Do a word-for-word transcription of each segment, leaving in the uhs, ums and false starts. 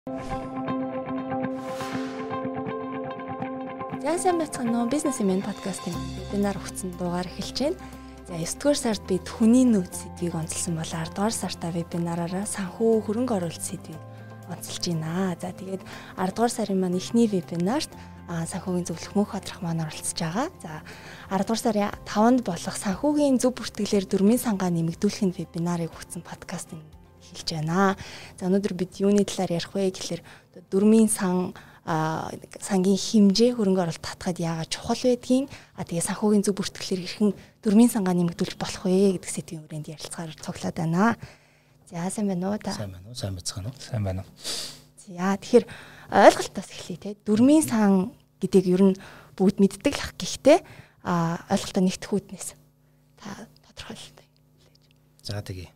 За сайн байцгаана уу, бизнесмен подкастын вебинар өгсөн дугаар эхэлж байна. За девь дугаар сард бид хүний нөөц сэдвийг онцлсан бол ард дугаар сартаа вебинараараа санхүү хөрөнгө оруулалт сэдвийг онцолж байна. За тэгээд ард дугаар сарын маань эхний вебинарт санхүүгийн зөвлөх мөнх хадрах маань оролцож байгаа. За ард дугаар сарын таванд болох санхүүгийн зөв бүртгэлээр дөрмийн сангаа нэмэгдүүлэхин вебинарыг өгсөн подкастын эхэлж байна. За өнөөдөр бид юуны талаар ярих вэ гэхэлэр дөрмийн сан а сангийн хэмжээ хөрөнгө оруулалт татахад яагаад чухал байдгийг а тэгээ санхүүгийн зөв бүртгэлээр хэрхэн дөрмийн сангаа нэмэгдүүлж болох вэ гэдэг сэдвийн хүрээнд ярилцахаар цуглаад байна. За сайн байна уу та? Сайн байна уу? Сайн байцгаана уу? Сайн байна уу? За тэгэхээр ойлголтоос эхлэе те. Дөрмийн сан гэдгийг ер нь бүгд мэддэг л ах гэхдээ а ойлголтоо нэгтгэх үүднээс та тодорхойлолтой. За тэгье.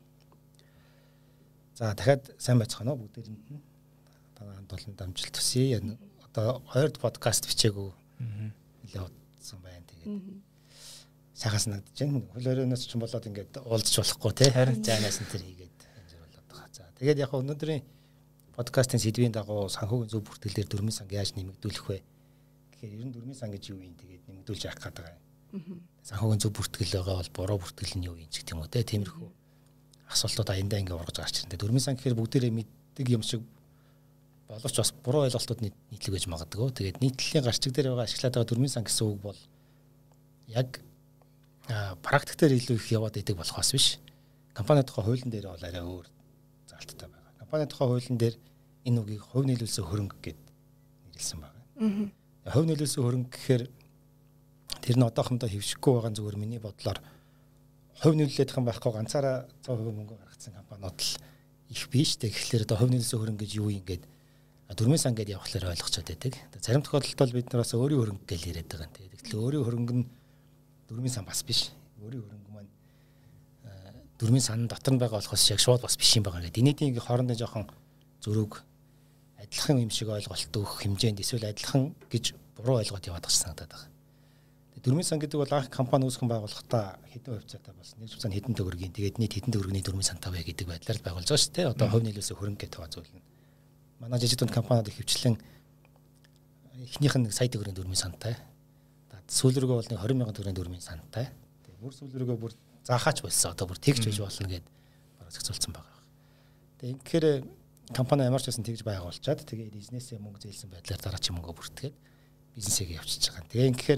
За дахиад сайн байцгаана уу бүгдээрэнд нь. Таван толон дамжуулт төсье. Одоо хоёр подкаст бичээгүү нэлээд удсан байна. Тэгээд сайхан санагдаж байна. Хөл өрөөнөөс ч болоод ингээд уулзч болохгүй те. Зайнаас энэ төр хийгээд амжир болоод байгаа. За тэгээд яг өнөөдрийн подкастын сэдвийн дагуу санхүүгийн зөв бүртгэлээр дөрмийн санг яаж нэмэгдүүлэх вэ? Тэгэхээр ер нь дөрмийн сан гэж юу юм тэгээд нэмэгдүүлж явах гэдэг юм. Санхүүгийн зөв бүртгэл байгаа бол буруу бүртгэл нь юу юм ч гэх юм уу те. Тиймэрхүү асуултууд аяндаа ингээд ургаж гарч ирнэ. Дөрмийн сан гэхээр бүгдээрээ мэддэг юм шиг боловч бас буруу ойлголтууд нийтлэг байж магадгүй. Тэгээд нийтлэлийн гарчиг дээр байгаа ашиглаад байгаа дөрмийн сан гэсэн үг бол яг практик дээр илүү их яваад идэг болох бас биш. Компани тухай хуулийн дээр бол арай өөр залттай байгаа. Компани тухай хуулийн дээр энэ үгийг хувь нийлүүлсэн хөрөнгө гэд нэрлсэн байгаа. Хувь нийлүүлсэн хөрөнгө гэхээр тэр нь одоохондоо хэвшихгүй байгаа зүгээр миний бодлоор хувь нийлүүлэх юм байхгүй ганцаараа цаа хувь мөнгө гаргацсан компаниуд л их биш. Тэгэхээр одоо хувь нийлүүлсэн хөрөнгө гэж юу юм гээд дөрмийн сан гэдээ явахлаар ойлгочод байдаг. Зарим тохиолдолд бид нараас өөрийн хөрөнгө гэж яриад байгаа юм. Тэгэхээр өөрийн хөрөнгө нь дөрмийн сан бас биш. Өөрийн хөрөнгө маань дөрмийн сан дотор нь байгаа болохоос яг шууд бас биш юм байгаа гэдэг. Энэний хоорондоо жоохон зөрөг адилхан юм шиг ойлголт өгөх хэмжээнд эсвэл адилхан гэж буруу ойлгоод яваад байгаа санагдаад байгаа. Дөрмийн сан гэдэг бол анх компани үүсгэн байгуулахдаа хэдэн хувьцаатай болсон. Нэг хувьцаанд хэдэн төгрөгийн тэгээд нийт хэдэн төгрөгийн дөрмийн сантай вэ гэдэг байдлаар л байгуулж байгаа шүү дээ. Одоо хувь нийлүүлсэн хөрөнгө гэдэг байгаа зүйл нь. Манай жижиг дунд компаниуд хөвчлэн эхнийх нь сая төгрөгийн дөрмийн сантай. Сүүл рүүгээ бол нэг двадцать мянган төгрөгийн дөрмийн сантай. Тэгээ бүр сүүл рүүгээ бүр заахаач болсон. Одоо бүр тэгж байж болно гэд бараг зохицуулсан байгаа. Тэгээ инхээр компани ямарч байсан тэгж байгуулчаад тэгээ бизнесээ мөнгө зээлсэн байдлаар дараачийн мөнгө бүртгээд бизнесээ явуулчихж байгаа. Тэгээ инхээр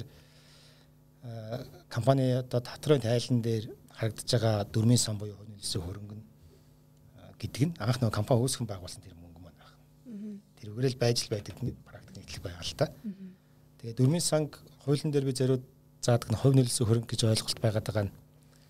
компани одоо татрын тайлан дээр харагдаж байгаа дөрмийн сан буюу хувь нийлүүлсэн хөрөнгө гэдэг нь анх нөгөө компани үүсгэн байгуулсан тэр мөнгө маань байна. Тэрүүгээр л байж л байдаг нэг практик нийтлэг байгаа л та. Тэгээ дөрмийн санг хуулийн дээр би зориуд заадаг нь хувь нийлүүлсэн хөрөнгө гэж ойлголт байгаад байгаа нь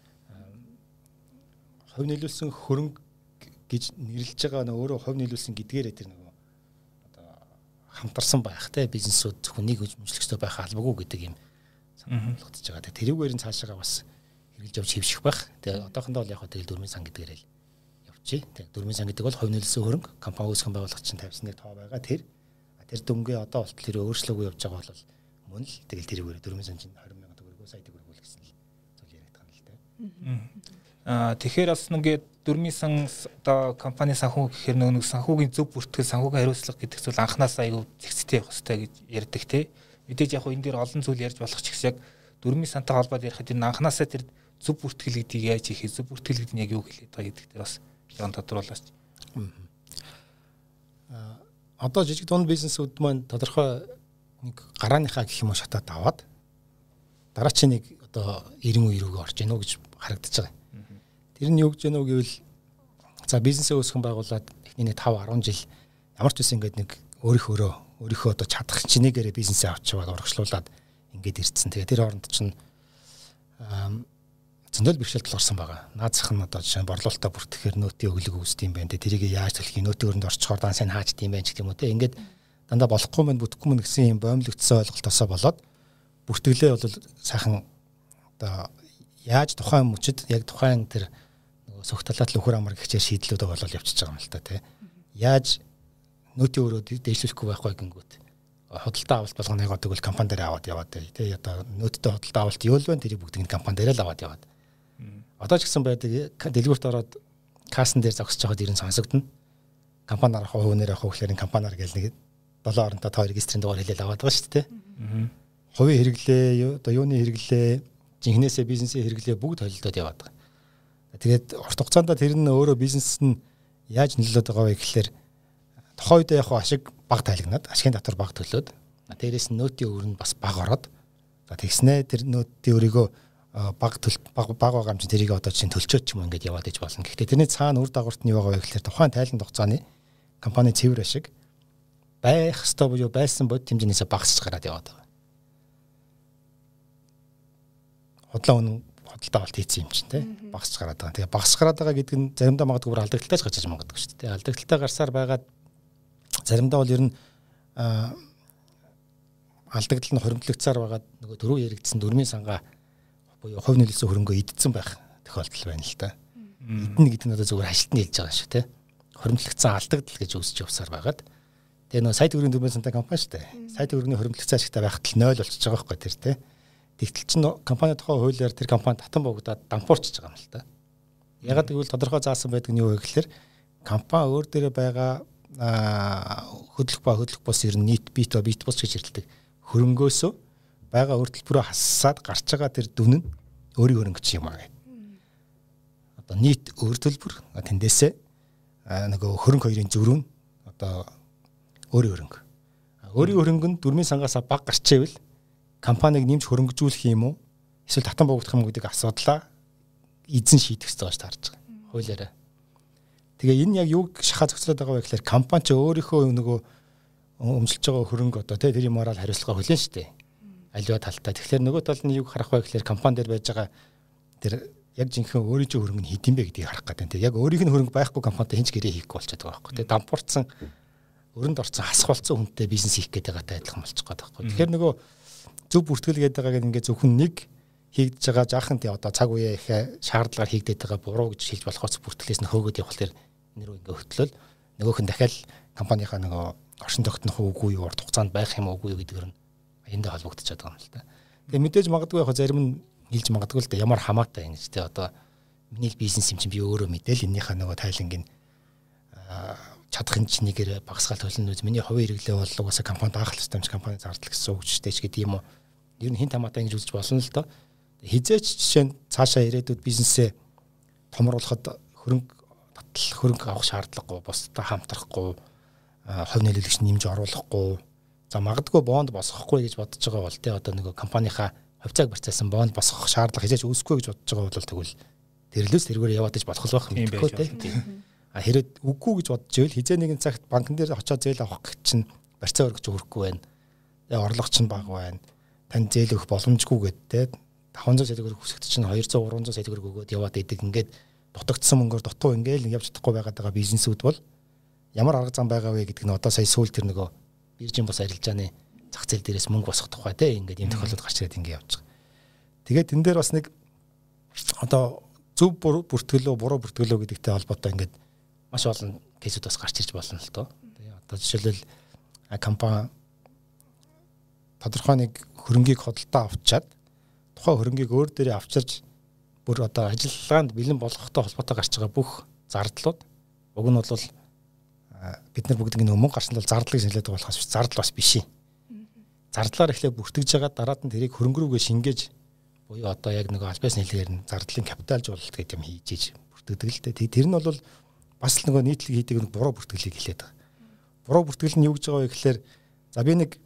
хувь нийлүүлсэн хөрөнгө гэж нэрлэж байгаа нь өөрөө хувь нийлүүлсэн гэдгээрээ тэр нөгөө одоо хамтарсан байх те бизнесүүд зөвхөн нэг хэмжлэгчтэй байх албагүй гэдэг юм болгож байгаа. Тэрүүгээр нь цаашаа бас хэрэгжилж явж хэвших байх. Тэгээ одоохондоо бол яг хөө тэгэл дөрмийн сан гэдгээр л явчих. Тэгээ дөрмийн сан гэдэг бол хувь нийлүүлсэн хөрөнгө компани үүсгэн байгуулагч чинь тавьсан нэг тоо байгаа. Тэр тэр дүнгээ одоо болтол тэр өөрчлөөгүй явж байгаа бол мөн л тэгэл тэрүүгээр дөрмийн сан чинь двадцать мянган төгрөгөө сая төгрөгөө л гэсэн л зүйл яриад байгаа юм л дээ. Аа тэгэхээр бас нэгэ дөрмийн сан одоо компани санхүү гэхээр нөгөө санхүүгийн зөв бүртгэл санхүүгийн хариуцлага гэдэг зүйл анханасаа аюу зэгцтэй явах хэрэгтэй гэж ярьдаг те. Мэдээж яг энэ дээр олон зүйл ярьж болох ч гэсэн яг дөрмийн сантай холбоод ярихад энэ анханасаа тэр зөв бүртгэл гэдгийг яаж хийх, зөв бүртгэл гэдэг нь яг юу хэлээд байгаа гэдэг дээр бас яг тодруулаач. Аа одоо жижиг дунд бизнесүүд маань тодорхой нэг гарааныхаа гэх юм уу шатаад аваад дараачийн нэг одоо эрен үе рүүгээ орж ийнө гэж харагдаж байгаа. Тэр нь юу гэж ийнө гэвэл за бизнесээ үүсгэн байгуулад эхний нэг five ten жил ямар ч үсэн ингэдэг нэг өөрийнхөө өөрийнхөө одоо чадах чинээгээр бизнесээ авчиваад урагшлуулад ингээд ирсэн. Тэгээ тэр хооронд чинь зөндөл бэрхшээлт орсон байгаа. Наазах нь одоо жишээ нь борлуулалтаа бүртгэхээр нөөтийн өглөг үүсдэм байх. Тэрийг яаж төлөх юм, нөөтийн өрөнд орчхоор дан сайн хаачдсан байх гэх юм уу те. Ингээд дандаа болохгүй мэн бүтэхгүй мэн гэсэн юм боомлогдсон ойлголтосоо болоод бүртгэлээ бол сайхан одоо яаж тухайн мөчөд яг тухайн тэр нөгөө согтолоод л өхөр амар гихчээр шийдлүүдээ болол явчихж байгаа юм л та те. Яаж нөөтийн өрөөд дээшлүүлэхгүй байхгүй гингүүт худалдаа авалт болгоно яг одоо компани дээр аваад яваад тий одоо нөөдтэй худалдаа авалт юу л вэ тэрийг бүгдийг компани дээр л аваад яваад одоо ч гэсэн байдаг дэлгүүрт ороод кассан дээр зогсож байгаад ирэн сонсогдно компаниар авах хувь нэр авах гэхээр компаниар гэл нэг долоо оронтой тоо регистрийн дугаар хэлээд аваад байгаа шүү дээ. Хувийн хэрэглээ, одоо юуны хэрэглээ, жинхнээсээ бизнесийн хэрэглээ бүгд холилдоод яваад байгаа. Тэгээд урт хугацаанд тэр нь өөрөө бизнес нь яаж нөлөөлөд байгаа вэ гэхээр тухайн үед яг ашиг баг тайлагнаад, ашигын татвар баг төлөөд, дээрээс нь нөөтийн өр нь бас баг ороод, за тэгснэ тэр нөөтийн өрийгөө баг төл баг баг байгаа юм чинь тэрийг одоо чинь төлчөөд ч юм ингээд яваад иж болно. Гэхдээ тэрний цаана үр дагаварт нь юу байгаа вэ гэхээр тухайн тайлан хугацааны компани цэвэр ашиг байх ёстой буюу байсан бод хэмжээнээс багасч гараад яваад байгаа. Хотлоо үнэн хөдөлთა авалт хийсэн юм чинь те багасч гараад байгаа. Тэгээ багасч гараад байгаа гэдэг нь заримдаа магадгүй бүр алдагдaltaаж гарч иж магадгүй шүү дээ. Алдагдaltaа гарсаар байгаад заримдаа бол ер нь алдагдал нь хоримтлагдсаар байгаад нөгөө дөрөв яригдсан дөрмийн сангаа буюу хувь нөлөөсөн хөрөнгөө идсэн байх тохиолдол байна л та. Идэнэ гэдэг нь одоо зөвхөн ажилтны хэлж байгаа шүү те. Хоримтлагдсан алдагдал гэж үүсэж явсаар байгаад тэгээ нөгөө сая төгрөгийн дөрмийн сантай компани шүү дээ. Сая төгрөгийн хоримтлагдсан ашигтай байхад л ноль болчихж байгаа байхгүй тэр те. Тэгтэл чинь компани тухай хуулиар тэр компани татан богдоод дампуурчж байгаа юм л та. Ягаад гэвэл тодорхой заасан байдаг нь юу вэ гэхээр компани өөр дээрээ байгаа хөдлөх ба хөдлөх бус ер нь нийт бит ба бит бус гэж хэлдэг. Хөрөнгөөсөө байгаа өөр төлбөрөө хассаад гарч байгаа тэр дүн нь өөрийн хөрөнгө чи юм аа гэх. Одоо нийт өөр төлбөр тэндээсээ нөгөө хөрөнгө хоёрын зөрүү нь одоо өөрийн хөрөнгө. Өөрийн хөрөнгө нь дөрмийн сангаас баг гарчээвэл компаниг нэмж хөрөнгөжүүлэх юм уу? Эсвэл татан богдох юм уу гэдэг асуудлаа эзэн шийдэх ёстой гэж таарж байгаа. Хуулиараа. Тэгээ энэ яг юуг шахаа зохицуулаад байгаа вэ гэхээр компани ч өөрийнхөө нөгөө өмсөлж байгаа хөрөнгө одоо тэр юм орол хариуцлага хүлээн штэ. Аливаа талтай. Тэгэхээр нөгөө тал нь юуг харах вэ гэхээр компани дээр байж байгаа тэр яг жинхэнэ өөрийн чинь хөрөнгө нь хэдин бэ гэдгийг харах гэдэг. Тэгээ яг өөрийнх нь хөрөнгө байхгүй компанитай хинч гэрээ хийхгүй болчиход байгаа байхгүй. Тэгээ дампуурсан өрөнд орцсон хасгалцсан хүнтэй бизнес хийх гэдэг байгаатай адилхан болчих гээд байгаа байхгүй. Тэгэхээр нөгөө зөв бүртгэл гэдэг байгааг ингээд зөвхөн нэг хийгдэж байгаа жаахан тий одоо цаг үеэ их шаардлагаар хийгдээд байгаа буруу гэж хэлж болохоос бүртгэлээс нь хөөгөөд явах тэр нэр ингээ хөтлөл нөгөөх нь дахиад компанийнхаа нөгөө оршин тогтнох үгүй юу урт хугацаанд байх юм уугүй юу гэдгээр нь эндээ холбогдчиход байгаа юм л та. Тэгээ мэдээж магадгүй яг зарим нь хэлж магадгүй л да ямар хамаатай юм гэж тий одоо миний бизнес юм чинь би өөрөө мэдээл эннийхээ нөгөө тайлангийн чадахын чинийгээр багасгаал төлнө үз миний хувийн хэрэглээ бол угаасаа компанид анхлах системч компани зардал гэсэн үг ч гэж гэдэг юм уу. Ер нь хин тамаатай ингэж үзэж болно л доо. Хизээч жишээ нь цаашаа ирээдүйд бизнесээ томруулахад хөрөнгө татал хөрөнгө авах шаардлагагүй, бусдад хамтрахгүй, хувь нөлөөлөгч нэмж оруулахгүй, за магадгүй бонд босгохгүй гэж бодож байгаа бол тий одоо нэг компанийнхаа хувьцааг барьцаасан бонд босгох шаардлага хизээч үүсэхгүй гэж бодож байгаа бол тэгвэл тэрлээс тэргээр яваад иж болох байх юм байна тий. А хэрэг үгүй гэж бодож ивэл хизээ нэгэн цагт банкн дээр очиод зээл авах гэж чинь барьцаа өргөж өгөхгүй байна. Тэгээ орлого чинь бага байна. Тань зээл өгөх боломжгүй гэдэг те таван зуун сая төгрөг хүсэгт чинь хоёр зуун гурван зуун сая төгрөг өгөөд яваад идэг ингээд дутагдсан мөнгөөр дутуу ингээл явж чадахгүй байгаад байгаа бизнесүүд бол ямар арга зам байгаа вэ гэдэг нь одоо сая сүүл тэр нөгөө биржийн бос арилжааны зах зээл дээрээс мөнгө босгох тухай те ингээд юм тохиолдол гарч ирээд ингээд явж байгаа. Тэгээд тэн дээр бас нэг одоо зөв бүртгэлөө буруу бүртгэлөө гэдэгтэй холбоотой ингээд маш олон кейсүүд бас гарч ирж болно л доо. Тэгээ одоо жишээлбэл компани тодорхой нэг хөрөнгийг хөдөлтөө авчаад тухайн хөрөнгийг өөр дээрээ авчирж бүр одоо ажиллагаанд бэлэн болгохтой холбоотой гарч байгаа бүх зардлууд уг нь бол бид нар бүгд ингэ өмнө гарсан бол зардлыг шинжилээд байгаа болохоос зардал бас биш юм. Зардлаар эхлээ бүртгэж байгаа дараад нь тэрийг хөрөнгө рүүгээ шингээж буюу одоо яг нэг албаас хэлээр нь зардлын капиталжуулалт гэдэг юм хийж иж бүртгэдэг л дээ. Тэр нь бол бас л нөгөө нийтлэг хийдэг нэг буруу бүртгэлийг хэлээд байгаа. Буруу бүртгэл нь юу гэж байгаа вэ гэхээр за би нэг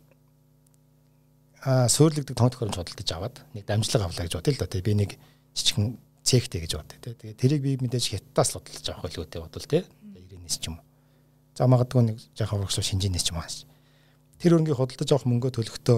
аа суйрлагддаг тоног төхөөрөмж худалдаж аваад нэг дамжлага авлаа гэж бодъё л да. Би нэг жижигхэн цехтэй гэж бодъё те. Тэгээ тэрийг би мэдээж хятадаас л худалдаж авах байлгүй те бодвол те. ирээнээс ч юм уу. За магадгүй нэг жоохон урагшаа шинжинээс ч юм аа. Тэр өрнгийг худалдаж авах мөнгөө төлөхдөө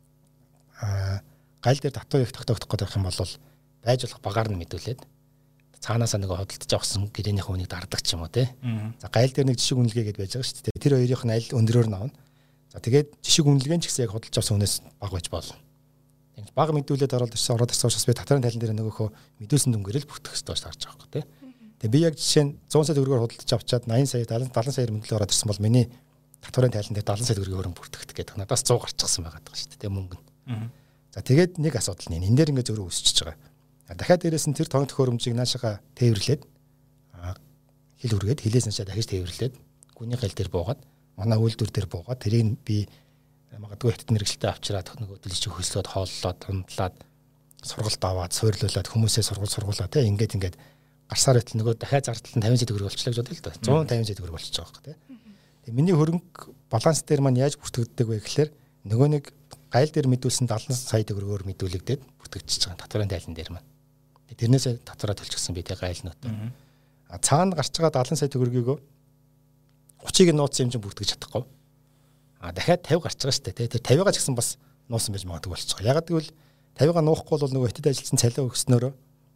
аа гайл дээр татвар их тогтоох гэдэг юм бол байж болох багаар нь мэдүүлээд цаанаасаа нэг худалдаж авсан гэрээнийхээ үнийг дардах ч юм уу те. За гайл дээр нэг жишг үнэлгээ гэдээ байж байгаа шүү дээ. Тэр хоёрын нь аль өндрөөр нь авна. За тэгээд жишг үнэлгээ ч гэсэн яг худалдаж авсан хүнээс бага байж болно. Тэгж бага мэдүүлээд ороод ирсэн ороод ирсэн учраас би татварын тайлан дээр нөгөөхөө мэдүүлсэн дүнгээрэл бүртгэх ёстой гэж харж байгаа юм те. Тэгээд би яг жишээ нь зуун сая төгрөгөөр худалдаж авчаад восемь сая дадлан сая мөнгөөр ороод ирсэн бол миний татварын тайлан дээр дадлан сая төгрөгийн хөрөнгө бүртгэх гэдэг надаас сто гарчихсан байгаа даа шүү дээ мөнгө нь. За тэгээд нэг асуудал нь энэ дээр ингээ зөрөө өсчихөж байгаа. Дахиад дээрээс нь тэр тоног төхөөрөмжийг наашаага тээвэрлээд хил үргээд хилээс наашаа дахиж тээвэрлээд гүний хэл дээр буугаад манай үйлдвэр дээр буугаад тэрийг би магадгүй хэдэн мэрэгчлээ авчираад нөгөө төлөвч хөслөөд хооллоод ундлаад сургалт аваад суйрлуулад хүмүүсээ сургууль сургуулаа те ингээд ингээд гарсаар байтал нөгөө дахиад зардал нь тавин сая төгрөг болчихлоо гэж бодъё л да. зуун тавин сая төгрөг болчихж байгаа хэрэг те. Тэгээ миний хөрөнгө баланс дээр маань яаж бүртгэгддэг вэ гэхлээр нөгөө нэг гайл дээр мэдүүлсэн дадлан сая төгрөгөөр мэдүүлэгдээд бүртгэгдчихэж байгаа татварын тайлан дээр маань. Тэрнээсээ татвараа төлчихсөн би те гайлнууд. А цаана гарч байгаа дадлан сая төгрөгийгөө гуцыг нууцсан юм чинь бүртгэж чадахгүй. А дахиад тавь гарч байгаа шүү дээ. Тэр тавигаа ч гэсэн бас нуусан байж магадгүй болчих. Ягаад гэвэл тавигаа нуухгүй бол нөгөө хятад ажилласан цалин өгснөөрөө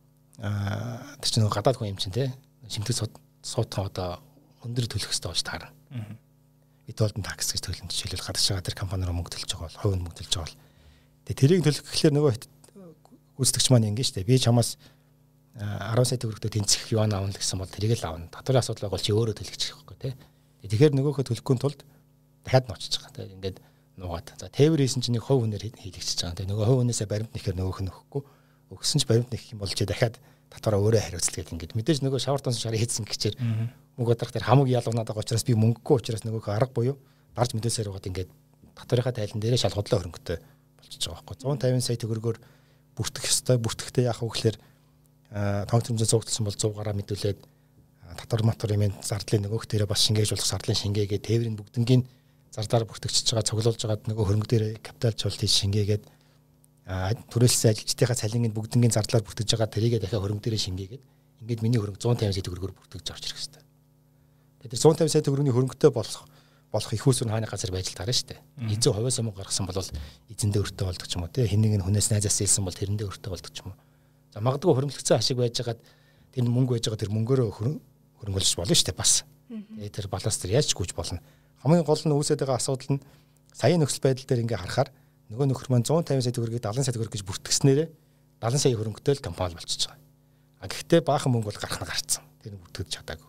аа тэр чинь нөгөө гадаад хүн юм чинь те шимтэг суутхан одоо өндөр төлөх хэрэгтэй болж таарна. Withholding tax гэж төлөв жишээлбэл гадагш байгаа тэр компаниар мөнгө төлж байгаа бол хувийн мөнгө төлж байгаа бол тэгээ тэрийг төлөх гэхлээр нөгөө гүйцэтгэгч маань ингэ шүү дээ. Би чамаас арван сая төгрөгтөө тэнцэх юан аавна гэсэн бол тэрийг л аавна. Татварын асуудал бол чи өөрөө төлөгчих байхгүй те. Тэгэхээр нөгөөхөө төлөхгүй тулд дахиад нуучиж байгаа. Тэгээ ингээд нуугаад. За тээвэр хийсэн чинь нэг хувь хүнээр хийлэгчиж байгаа. Тэгээ нөгөө хувь хүнээсээ баримт нэхээр нөгөөх нь өгөхгүй. Өгсөн ч баримт нэх юм бол чи дахиад татвараа өөрөө хариуцлага гэдэг ингээд мэдээж нөгөө шавар тонс шарыг хийсэн гэчээр мөнгө одрах тэр хамаг ялгуунаад байгаа учраас би мөнгөгүй учраас нөгөөх арга буюу гарч мэдээсээр угаад ингээд татварынхаа тайлан дээрээ шал худлаа хөрөнгөтэй болчихж байгаа байхгүй. зуун тавин сая төгрөгөөр бүртгэх ёстой. Бүртгэхдээ яах вэ гэхээр тоног төрөмжөнд зуугдсан бол сто гараа мэдүүлээд татвар матвар юм зардлын нөгөөх дээрээ бас шингээж болох зардлын шингээгээ тээврийн бүгднгийн зардаар бүртгэгчж байгаа цуглуулж байгаа нөгөө хөрөнгө дээр капиталчуулт хийж шингээгээд түрээлсэн ажилчдынхаа цалингийн бүгднгийн зардлаар бүртгэж байгаа тэрийгээ дахиад хөрөнгө дээрээ шингээгээд ингээд миний хөрөнгө зуун тавин сая төгрөгөөр бүртгэж авч ирэх хэрэгтэй. Тэгэхээр зуун тавин сая төгрөгийн хөрөнгөтэй болох болох их усүр хааны газар байж таарна шүү дээ. Эзэн хувиас мөнгө гаргасан бол эзэндээ өртөө болдог ч юм уу тий. Хэнийг нь хүнээс найзаас илсэн бол тэрэндээ өртөө болдог ч юм уу. За магадгүй хөрөнгөлөгцөө ашиг байж байгаа тэр мөнгө байж байгаа тэр мөнгөөрөө хөрөнгөлж болно шүү дээ бас. Тэгээ тэр баланс тэр яаж гүйж болно. Хамгийн гол нь үүсээд байгаа асуудал нь саяын нөхцөл байдал дээр ингээ харахаар нөгөө нөхөр маань зуун тавин сая төгрөгийг дадлан сая төгрөг гэж бүртгэснээрээ дадлан сая хөрөнгөтэй л компани болчихж байгаа. А гэхдээ баахан мөнгө бол гарах нь гарцсан. Тэр нь бүртгэж чадаагүй.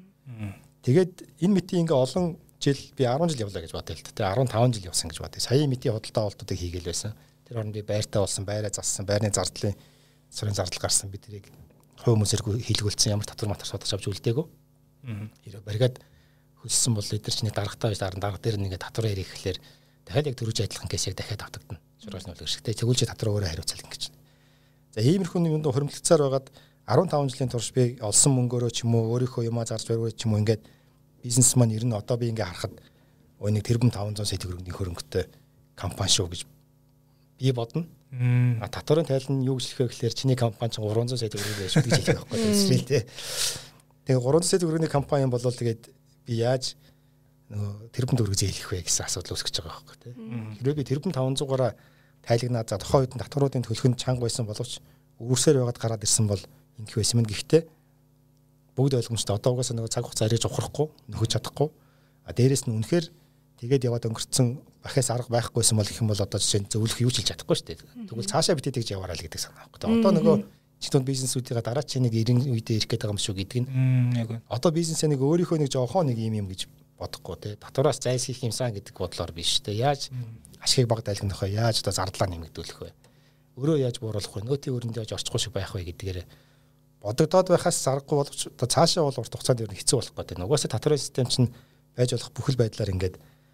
Тэгээд энэ мэтийн ингээ олон жил би арван жил явлаа гэж бодъё л та. Тэгээ арван таван жил явсан гэж бодъё. Саяын мэтийн худалдаа авалтуудыг хийгээл байсан. Тэр хооронд би байртаа болсон, байраа зассан, байрны зардлын сарын зардал гарсан би тэрийг хувь хүмүүсээр хийлгүүлсэн ямар татвар матар судалж авч үлдээгөө. Хэрэв баригад хөлсөн бол эдгээр чинь дарагтаа байж дарга дарга дээр нэгэ татвар ярих гэхлээр дахиад яг төрөж адилхан кейсийг дахиад автагдана. Шуургасны үлгэр шигтэй тэгвэл чи татвар өөрөө хариуцал ингэж. За иймэрхүү юм доо хөрөнгөлцөөр байгаад арван таван жилийн турш би олсон мөнгөөрөө ч юм уу өөрийнхөө юмаа зарж бариулж ч юм уу ингээд бизнес маань ер нь одоо би ингээ харахад өө нэг тэрбум таван зуун сая төгрөгийн хөрөнгөтэй компани шүү гэж би бодно. А татварын тайлан юу гэж хэлэх вэ гэхээр чиний компани чинь гурван зуун сая төгрөг байж гэж хэлэх байхгүй тийм ээ. Тэгээ гурван зуун сая төгрөгийн компани бол тэгээд би яаж нөгөө тэрбум төгрөг зээлэх вэ гэсэн асуудал үүсгэж байгаа байхгүй тийм. Хэрвээ би тэрбум таван зуугаараа тайлагнаад за тухайн үед татваруудын төлөхөнд чанга байсан боловч өөрсөөр байгаад гараад ирсэн бол ингэх байсан юм. Гэхдээ бүгд ойлгомжтой одоо угаасаа нөгөө цаг хугацаа ариж ухрахгүй нөхөж чадахгүй. А дээрэс нь үнэхээр тэгээд яваад өнгөрцөн бахаас арга байхгүйсэн бол их юм бол одоо жишээ нь зөвлөх юу ч хийж чадахгүй шүү дээ. Тэгвэл цаашаа битээ тэгж яваарай л гэдэг санаа байхгүй. Одоо нөгөө чигтэн бизнесүүдийн дараа чи нэг эрен үедээ ирэх гээд байгаа юм шүү гэдэг нь. Яг нь. Одоо бизнесээ нэг өөрийнхөө нэг жоохон нэг юм юм гэж бодохгүй те. Татвараас зайлсхийх юмсан гэдэг бодлоор биш те. Яаж ашигыг баг дайлгах вэ? Яаж одоо зардлаа нэмэгдүүлэх вэ? Өөрөө яаж бууруулах вэ? Нөөтийн өрөндөө яаж орчихгүй шиг байх вэ гэдгээр бодогдоод байхаас заргагүй боловч одоо цаашаа бол урт хугацаанд ер нь хэцүү болох гэдэг. Угаасаа татварын систем чинь байж болох бүхэл байдлаар ингээд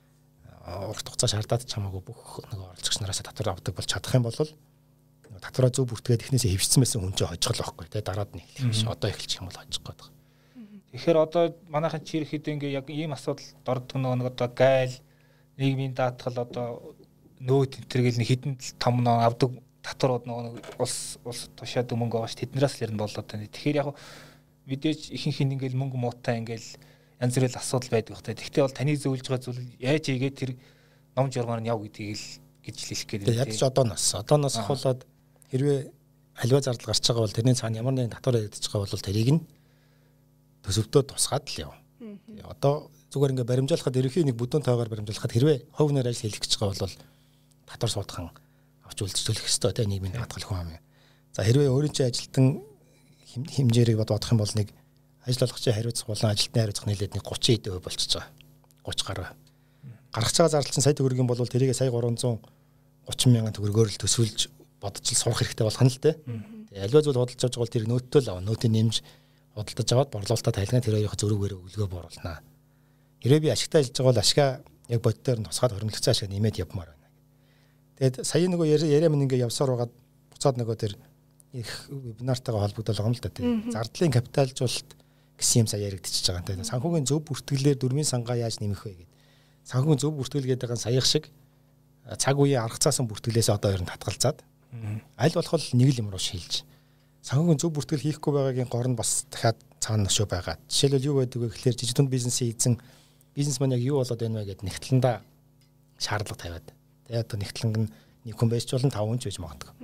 урт хугацаа шаардаад чамаагүй бүх нэг оролцогч нараас татвар авдаг бол чадах юм бол татвараа зөв бүртгээд эхнээсээ хэвшсэн байсан хүн чинь хожгол байхгүй тий дараад нь эхлэх биш одоо эхэлчих юм бол хожих гээд байгаа. Тэгэхээр одоо манайхан чир хэд ингээ яг ийм асуудал дордог нэг одоо гайл нийгмийн даатгал одоо нөөт тентэргээл нэг хідэн том нөө авдаг татварууд нэг улс улс тушаад мөнгө аваач тэднээс л ер нь болоод байна. Тэгэхээр яг мэдээж ихэнх нь ингээл мөнгө муутай ингээл янз бүрийн асуудал байдаг хэрэгтэй. Тэгвэл бол таны зөвлөж байгаа зүйл яаж ийгээд тэр ном журмаар нь яв гэдгийг л гэж хэлэх гээд байна. Ядч одооноос одооноос хавуулаад хэрвээ аливаа зардал гарч байгаа бол тэрний цаана ямар нэгэн татвар яригдчих байгаа бол тэрийг нь төсөвтөө тусгаад л яв. Одоо зүгээр ингээ баримжаалахад ерөнхий нэг бүдүүн тойгоор баримжаалахад хэрвээ хувь нэр ажил хийх гэж байгаа бол татвар суудхан авч үлдчихүүлэх ёстой те нийгмийн даатгал хүн юм. За хэрвээ өөрийн чинь ажилтан хэмжээрийг бодох юм бол нэг ажил олгогчийн хариуцах болон ажилтны хариуцах нийлээд нэг гучин эд өв болчихж байгаа. гуйч гараа. Гаргаж байгаа зардал чинь сая төгрөгийн бол тэрийг сая гурван зуун гучин мянган төгрөгөөр л төсвөлж бодож л сурах хэрэгтэй болох нь л те. Тэгээ аливаа зүйл худалдаж авч байгаа бол тэр нөөттэй л ав. Нөөтийн нэмж худалдаж аваад борлуулалтаа тайлгнаа тэр хоёрын зөрүүгээр өлгөө бууруулнаа. Хэрвээ би ашигтай ажиллаж байгаа бол ашгаа яг боддоор нь тусгаад хөрөнгөлөгцөө ашиг нэмээд явмаар байна. Тэгээд сая нөгөө яриа минь ингээ явсаар байгаад буцаад нөгөө тэр их вебинартайгаа холбогдол байгаа юм л да тийм. Зардлын капиталжуулалт гэсэн юм сая яригдчихэж байгаа. Тэгээд санхүүгийн зөв бүртгэлээр дөрмийн сангаа яаж нэмэх вэ гэдэг. Санхүүгийн зөв бүртгэл гэдэг нь саяхан шиг цаг үеийн арга цаасан бүртгэлээс одоо ер нь татгалзаад аль болох нэг л юм руу шилж. Санхүүгийн зөв бүртгэл хийхгүй байгаагийн гор нь бас дахиад цаана нөшөө байгаа. Жишээлбэл юу гэдэг вэ гэхээр жижиг дунд бизнесийн эзэн бизнесмен яг юу болоод байна вэ гэдэг нэгтлэндээ шаардлага тавиад. Тэгээд одоо нэгтлэнг нь нэг хүн байж болно таван хүн ч байж магадгүй.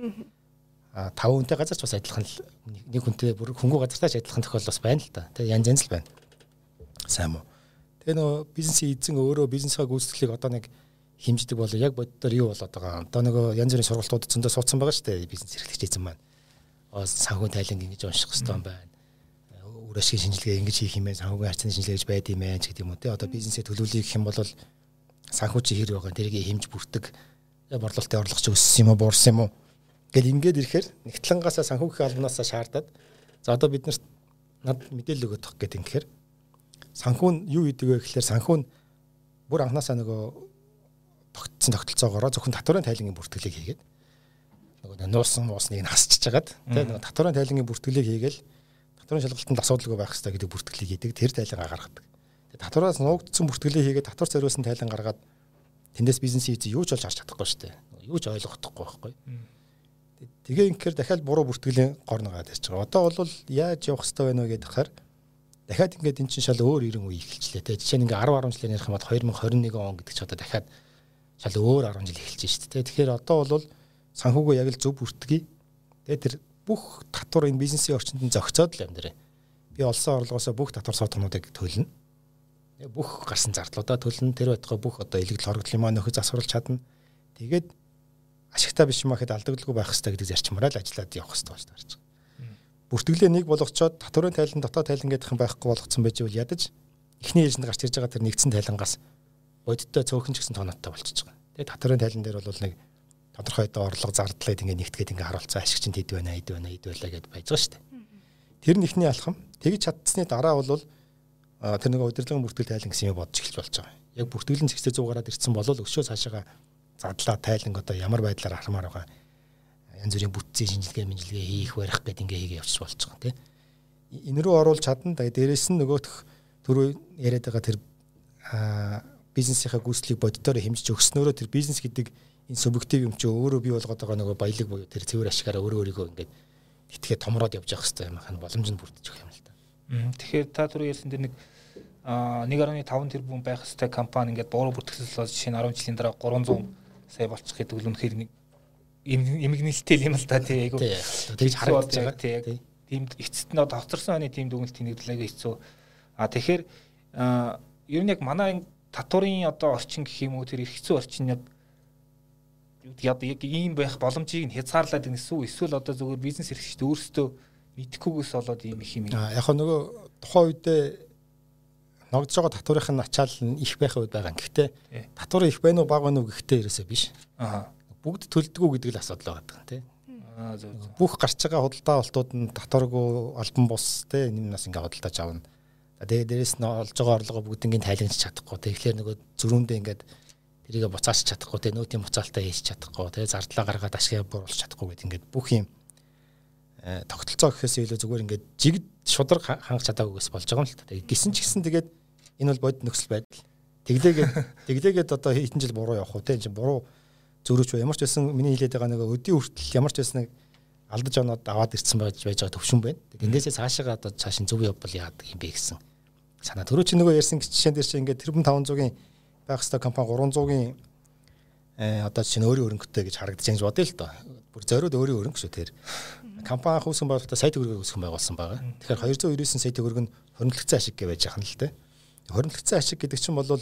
А таван хүнтэй газар ч бас адилхан нэг хүнтэй бүр хөнгөө газартаач адилхан тохиол бас байна л та. Тэгээд янз янз л байна. Сайн уу. Тэгээ нөө бизнесийн эзэн өөрөө бизнесаа гүйцэтгэлийг одоо нэг хэмждэг бол яг боддоор юу болоод байгаа. Одоо нөгөө янз бүрийн сургалтууд зөндөө суудсан байгаа шүү дээ бизнес эрхлэгч эзэн маань. Санхүүгийн тайланг ингэж унших хэрэгтэй юм байна. Үр ашигын шинжилгээ ингэж хийх юм байна. Санхүүгийн харьцааны шинжилгээ гэж байд юм байна ч гэдэг юм уу те. Одоо бизнесээ төлөвлөе гэх юм бол санхүү чи хэр байгаа тэрийг хэмж бүрдэг. Борлуулалтын орлого чи өссөн юм уу, буурсан юм уу гэл ингээд ирэхээр нэгтлэнгаасаа санхүүгийн албанаасаа шаардаад за одоо бид нарт над мэдээлэл өгөх гэдэг юм гэхээр санхүү нь юу гэдэг вэ гэхээр санхүү нь бүр анханасаа нөгөө тогтсон тогтолцоогоор зөвхөн татварын тайлангийн бүртгэлийг хийгээд нөгөө нуусан муусныг нь хасчихж хагаад тийм нөгөө татварын тайлангийн бүртгэлийг хийгээл татварын шалгалтанд асуудалгүй байх хэрэгтэй гэдэг бүртгэлийг хийдэг тэр тайлангаа гаргадаг. Тэгээд татвараас нуугдсан бүртгэлийг хийгээд татвар зориулсан тайлан гаргаад тэндээс бизнесийн эзэн юу ч олж харж чадахгүй шүү дээ. Юу ч ойлгохдохгүй байхгүй. Тэгээ инхээр дахиад буруу бүртгэлийн гор нагаад ярьж байгаа. Одоо бол яаж явах хэрэгтэй байна вэ гэдэг хахаар дахиад ингээд эн чинь шал өөр ирэн үе эхэлчлээ те. Жишээ нь ингээ десять гаруй жилээр ярих юм бол two thousand twenty-one он гэдэг чи одоо дахиад шал өөр ten жил эхэлж шүү дээ. Тэгэхээр одоо бол санхүүгөө яг л зөв бүртгэе. Тэгээ тэр бүх татвар энэ бизнесийн орчинд нь зохицоод л амьдраа. Би олсон орлогоосоо бүх татвар суугнуудыг төлнө. Бүх гарсан зардлуудаа төлнө. Тэр байтугай бүх одоо илэгдэл хоригдлын маань нөхөж засварлаж чадна. Тэгээд ашигтай биш юм ахэд алдагдaltaгүй байх хэрэгтэй гэдэг зарчмаараа л ажиллаад явах хэрэгтэй болж таарч байгаа. Бүртгэлээ нэг болгочоод татварын тайлан дотоод тайлан гэдэг юм байхгүй болгоцсон байж бол ядаж эхний ээлжинд гарч ирж байгаа тэр нэгдсэн тайлангаас бодиттой цөөхөн ч гэсэн тооноттой болчихж байгаа. Тэгээд татварын тайлан дээр бол нэг тодорхой одоо орлого зардлаад ингээ нэгтгээд ингээ харуулцсан ашиг чинь хэд байна, хэд байна, хэд байлаа гэдээ байж байгаа шүү дээ. Тэр нь ихний алхам. Тэгж чадсны дараа бол тэр нэг удирдлагын бүртгэл тайлан гэсэн юм бодож эхэлж болж байгаа. Яг бүртгэлэн зэгцээ зуг гараад ирсэн бол өшөө цаашаа задлаа тайланг одоо ямар байдлаар хармаар байгаа. Янз бүрийн бүтцийн шинжилгээ мэнжилгээ хийх барих гэдэг ингээ хийгээ явчих болж байгаа тийм. Энэ рүү оруулж чадна. Тэгээд дээрэс нь нөгөөх түрүү яриад байгаа тэр бизнесийнхаа гүйцэтгэлийг боддоор хэмжиж өгснөөрөө тэр бизнес гэдэг энэ субъектив юм чи өөрөө бий болгоод байгаа нөгөө баялаг буюу тэр цэвэр ашигаараа өөрөө өөрийгөө ингээд итгээд томроод явж явах хэрэгтэй юм хань боломжинд бүрдэж өгөх юм л та. Тэгэхээр та түрүү ярьсан тэр нэг one point five тэрбум байх хэвээр компани ингээд буруу бүртгэл болж жишээ нь ten жилийн дараа three hundred сая болчих гэдэг л үнэхээр нэг эмгэнэлтэй юм л та тий айгу тэгж харагдаж байгаа тий тийм эцэст нь товцорсон хүний тийм дүгнэлт тэнэгдлээгээ хэцүү а тэгэхээр ер нь яг манай татварын одоо орчин гэх юм уу тэр их хэцүү орчин яг яг яг ийм байх боломжийг нь хязгаарлаад гэсэн үү эсвэл одоо зөвхөн бизнес эрхлэгчид өөрсдөө мэдэхгүйгээс болоод ийм их юм яг нөгөө тухайн үедээ ногдож байгаа татварын ачаал нь их байх үед байгаа. Гэхдээ татвар их байна уу бага байна уу гэхдээ ерөөсөө биш. Аа. Бүгд төлдөггүй гэдэг л асуудал байгаа тийм. Аа зөв. Бүх гарч байгаа худалдаа олтууд нь татваргүй албан бус тийм юмнаас ингээ худалдааж авна. Тэгээд дээрэс нь олж байгаа орлогоо бүгднийг тайлангч чадахгүй. Тэгэхээр нөгөө зөрүүндээ ингээд тэрийг буцааж чадахгүй тийм нөөтийн буцаалтаа хийж чадахгүй тийм зардлаа гаргаад ашиг бууруулж чадахгүй гэдэг ингээд бүх юм тогтолцоо гэхээс илүү зүгээр ингээд жигд шудраг хангах чадаагүйгээс болж байгаа юм л та. Гисэн ч гэсэн тэгээд энэ бол бодит нөхцөл байдал. Тэглээгээд тэглээгээд одоо хэдэн жил буруу явах уу те энэ чинь буруу зөрүүч бай. Ямар ч байсан миний хэлээд байгаа нэг өдийн хүртэл ямар ч байсан нэг алдаж оноод аваад ирсэн байж байж байгаа төвшин байна. Тэндээсээ цаашаа одоо цаашин зөв явбал яадаг юм бэ гэсэн санаа. Түрүү чи нөгөө ярьсан жишээн дээр чи ингээд тэрбум five hundred-ийн байх хэвээр компани three hundred-ийн э одоо чинь өөрийн өрөнгөтэй гэж харагдаж байгаа юм бодъё л доо. Бүр зориуд өөрийн өрөнгө шүү тэр. Компани хөөсөн байгуулалтаа сая төгрөгийг өсгөх байгуулсан байгаа. Тэгэхээр two hundred ninety-nine сая төгрөг нь хоригдлогцсон ашиг гэж байж байгаа юм л те. Хоригдлогцсон ашиг гэдэг чинь бол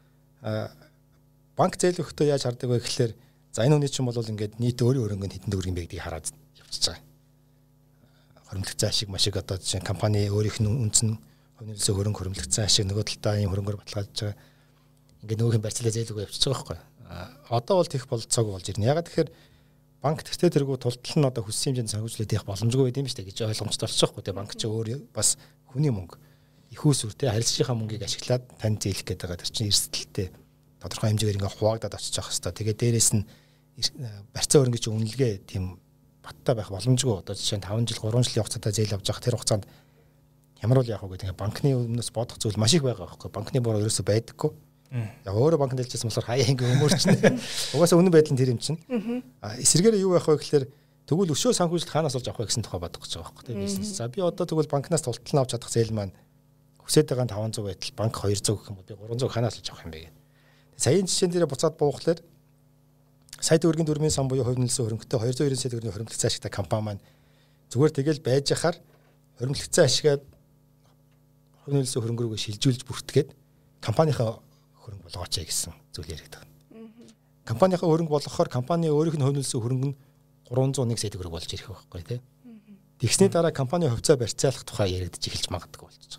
банк зээл өгөхдөө яаж хардаг вэ гэхээр за энэ хүний чинь бол ингээд нийт өөрийн өрөнгө нь хэдэн төгрөг юм бэ гэдгийг хараад явчихж байгаа. Хоригдлогцсон ашиг машиг одоо чинь компани өөрийнх нь үнц нь хувьнэлсэн хөрөнгө хоригдлогцсон ашиг нөгөө талдаа ийм хөрөнгөөр баталгаажж байгаа. Ингээд нөгөөх нь барьцлаа зээл өгөө явчихж байгаа байхгүй. Одоо бол тех болцоог болж ирнэ. Ягаад тэгэхээр банк тэгтээ тэргүү тултал нь одоо хүссэн хэмжээнд санхүүжлээд явах боломжгүй байд юм шүү дээ гэж ойлгомжтой болчихсон байхгүй. Тэгээ банк чи өөр бас хүний мөнгө их усүр те харилцагчийнхаа мөнгийг ашиглаад тань зээлэх гэдэг байгаа. Тэр чинь эрсдэлтэй тодорхой хэмжээгээр ингээ хуваагдаад очиж явах хэрэгтэй. Тэгээд дээрэс нь барьцаа хөрөнгөний чинь үнэлгээ тийм баттай байх боломжгүй. Одоо жишээ нь таван жил гурван жилийн хугацаатай зээл авч явах тэр хугацаанд ямар бол яах вэ гэдэг. Банкны өмнөөс бодох зүйл маш их байгаа байхгүй. Банкны буруу ерөөсөй байдаггүй. Яг өөрөө банкнд хэлжсэн болохоор хаяа ингээ өмөрчнэ. Угаасаа үнэн байдал нь тэр юм чинь. А эсрэгээр юу байх вэ гэхээр тэгвэл өшөө санхүүжилт хаанаас олж авах вэ гэсэн тухай бодох гэж байгаа байхгүй тийм бизнес. За би одоо тэгвэл банкнаас тултал нь авч чадах зээл маань хүсэж байгаа таван зуун байтал банк хоёр зуун гэх юм бол би гурван зуун хаанаас олж авах юм бэ гэдэг. Саяын жишээн дээр буцаад буухлаар сая төгрөгийн дөрмийн сан буюу хувь нөлөөсөн хөрөнгөтэй хоёр зуун девять сая төгрөгийн хуримтлагдсан ашигтай компани маань зүгээр тэгэл байж хахаар хуримтлагдсан ашигаа хувь нөлөөсөн хөрөнгө рүүгээ шилжүүлж бүртгээд компанийнхаа хөрөнгө болгооч гэсэн зүйл яриад байгаа. Компанийнхаа хөрөнгө болгохоор компани өөрийнх нь хувь нөлөөсөн хөрөнгө нь гурван зуун нэг сая төгрөг болж ирэх байхгүй тий. Тэгсний дараа компани хувьцаа барьцаалах тухай яригдж эхэлж магадгүй болчихж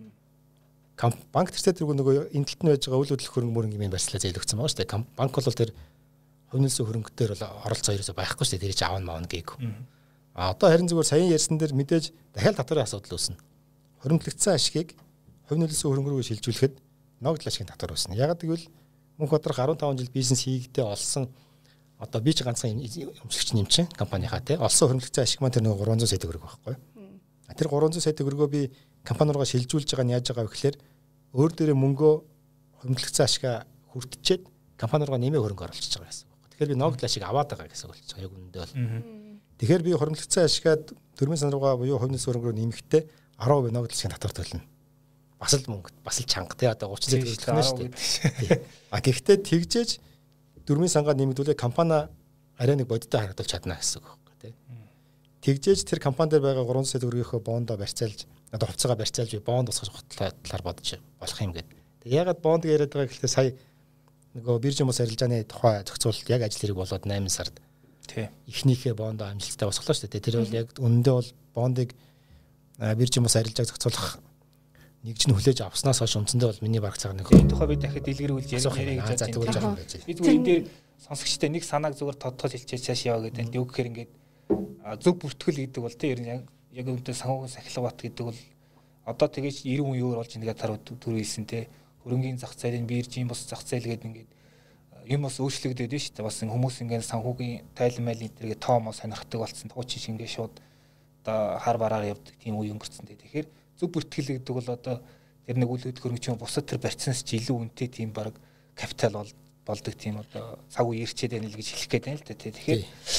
байгаа. Банк тэрсээ тэргүй нөгөө энэ талд нь байж байгаа үйл хөдлөх хөрөнгө мөрөнгөний барьцлаа зээлөгцсөн байгаа шүү дээ. Банк бол тэр хувь нөлөөсөн хөрөнгөдөр бол оролцоо ерөөсөй байхгүй шүү дээ. Тэр чинь аав маавна гээгүй. А одоо харин зүгээр саяын ярьсан дээр мэдээж дахиад татварын асуудал үүснэ. Хуримтлагдсан ашгийг хувь нөлөөсөн хөрөнгө рүү шилжүүлэхэд ногдол ашигын татвар үүснэ. Ягаад гэвэл мөнх бодрох арван таван жил бизнес хийгдээ олсон одоо би ч ганцхан өмчлөгч нэм чинь компанийнхаа тий олсон хуримтлагдсан ашиг маань тэр нэг гурван зуун сая төгрөг байхгүй. Тэр гурван зуун сая төгрөгөө би компани руугаа шилжүүлж байгаа нь яаж байгаа вэ гэхээр өөр дээрээ мөнгөө хуримтлагдсан ашигаа хүртчихэд компани руугаа нэмээ хөрөнгө оруулчихж байгаа гэсэн. Тэгэхээр би ногдол ашиг аваад байгаа гэсэн үг болж байгаа. Яг үнэндээ бол. Тэгэхээр би хуримтлагдсан ашигаа дөрмийн сан руугаа буюу хувь нөлөөсөн хөрөнгө рүү нэмэхдээ арван хувийн ногдол ашигын татвар төлнө. Бас л мөнгө бас л чанга тий одоо гучин сая төгрөг төлнө шүү дээ. А гэхдээ тэгжээж дөрмийн сангаа нэмэгдүүлээ компани арай нэг бодиттой харагдуулж чадна гэсэн үг байхгүй тий. Тэгжээж тэр компани дээр байгаа гурван сая төгрөгийнхөө бондоо барьцаалж одоо хувьцаагаа барьцаалж би бонд усгах талаар бодож болох юм гээд. Тэг ягаад бонд яриад байгаа гэхэлээ сая нөгөө биржийн бус арилжааны тухай зохицуулалт яг ажил хэрэг болоод найман сард тий эхнийхээ бондоо амжилттай босголоо шүү дээ. Тэр бол яг үнэндээ бол бондыг биржийн бус арилжааг зохицуулах нэгж нь хүлээж авснаас хойш үндсэндээ бол миний бараг цагаан нэг энэ тухай би дахиад дэлгэрүүлж ярих гэж байна. Би зүгээр энэ дээр сонсогчтой нэг санааг зүгээр тодтол хэлчихээ цааш яваа гэдэг. Юу гэхээр ингээд зөв бүртгэл гэдэг бол тий яг яг үүнтэй санхүүгийн сахилга бат гэдэг бол одоо тэгэж эрен үе өөр болж ингээд таруу түр хэлсэн тий хөрөнгөний зах зээлийн биржийн бус зах зээл гэдэг ингээд юм бас өөрчлөгдөд байна шүү дээ. Бас хүмүүс ингээд санхүүгийн тайлан майлын тэргээ тоомоо сонирхдаг болсон. Хуучин шингээ шууд одоо хар бараар явдаг тийм үе өнгөрцөн дээ. Тэгэхээр зөв бүртгэл гэдэг бол одоо тэр нэг үйл хөдлөх хөрөнгөчийн бусад тэр барьцнаас ч илүү үнэтэй тийм баг капитал бол болдог тийм одоо цаг үе ирчээд байна л гэж хэлэх гээд байна л да тий. Тэгэхээр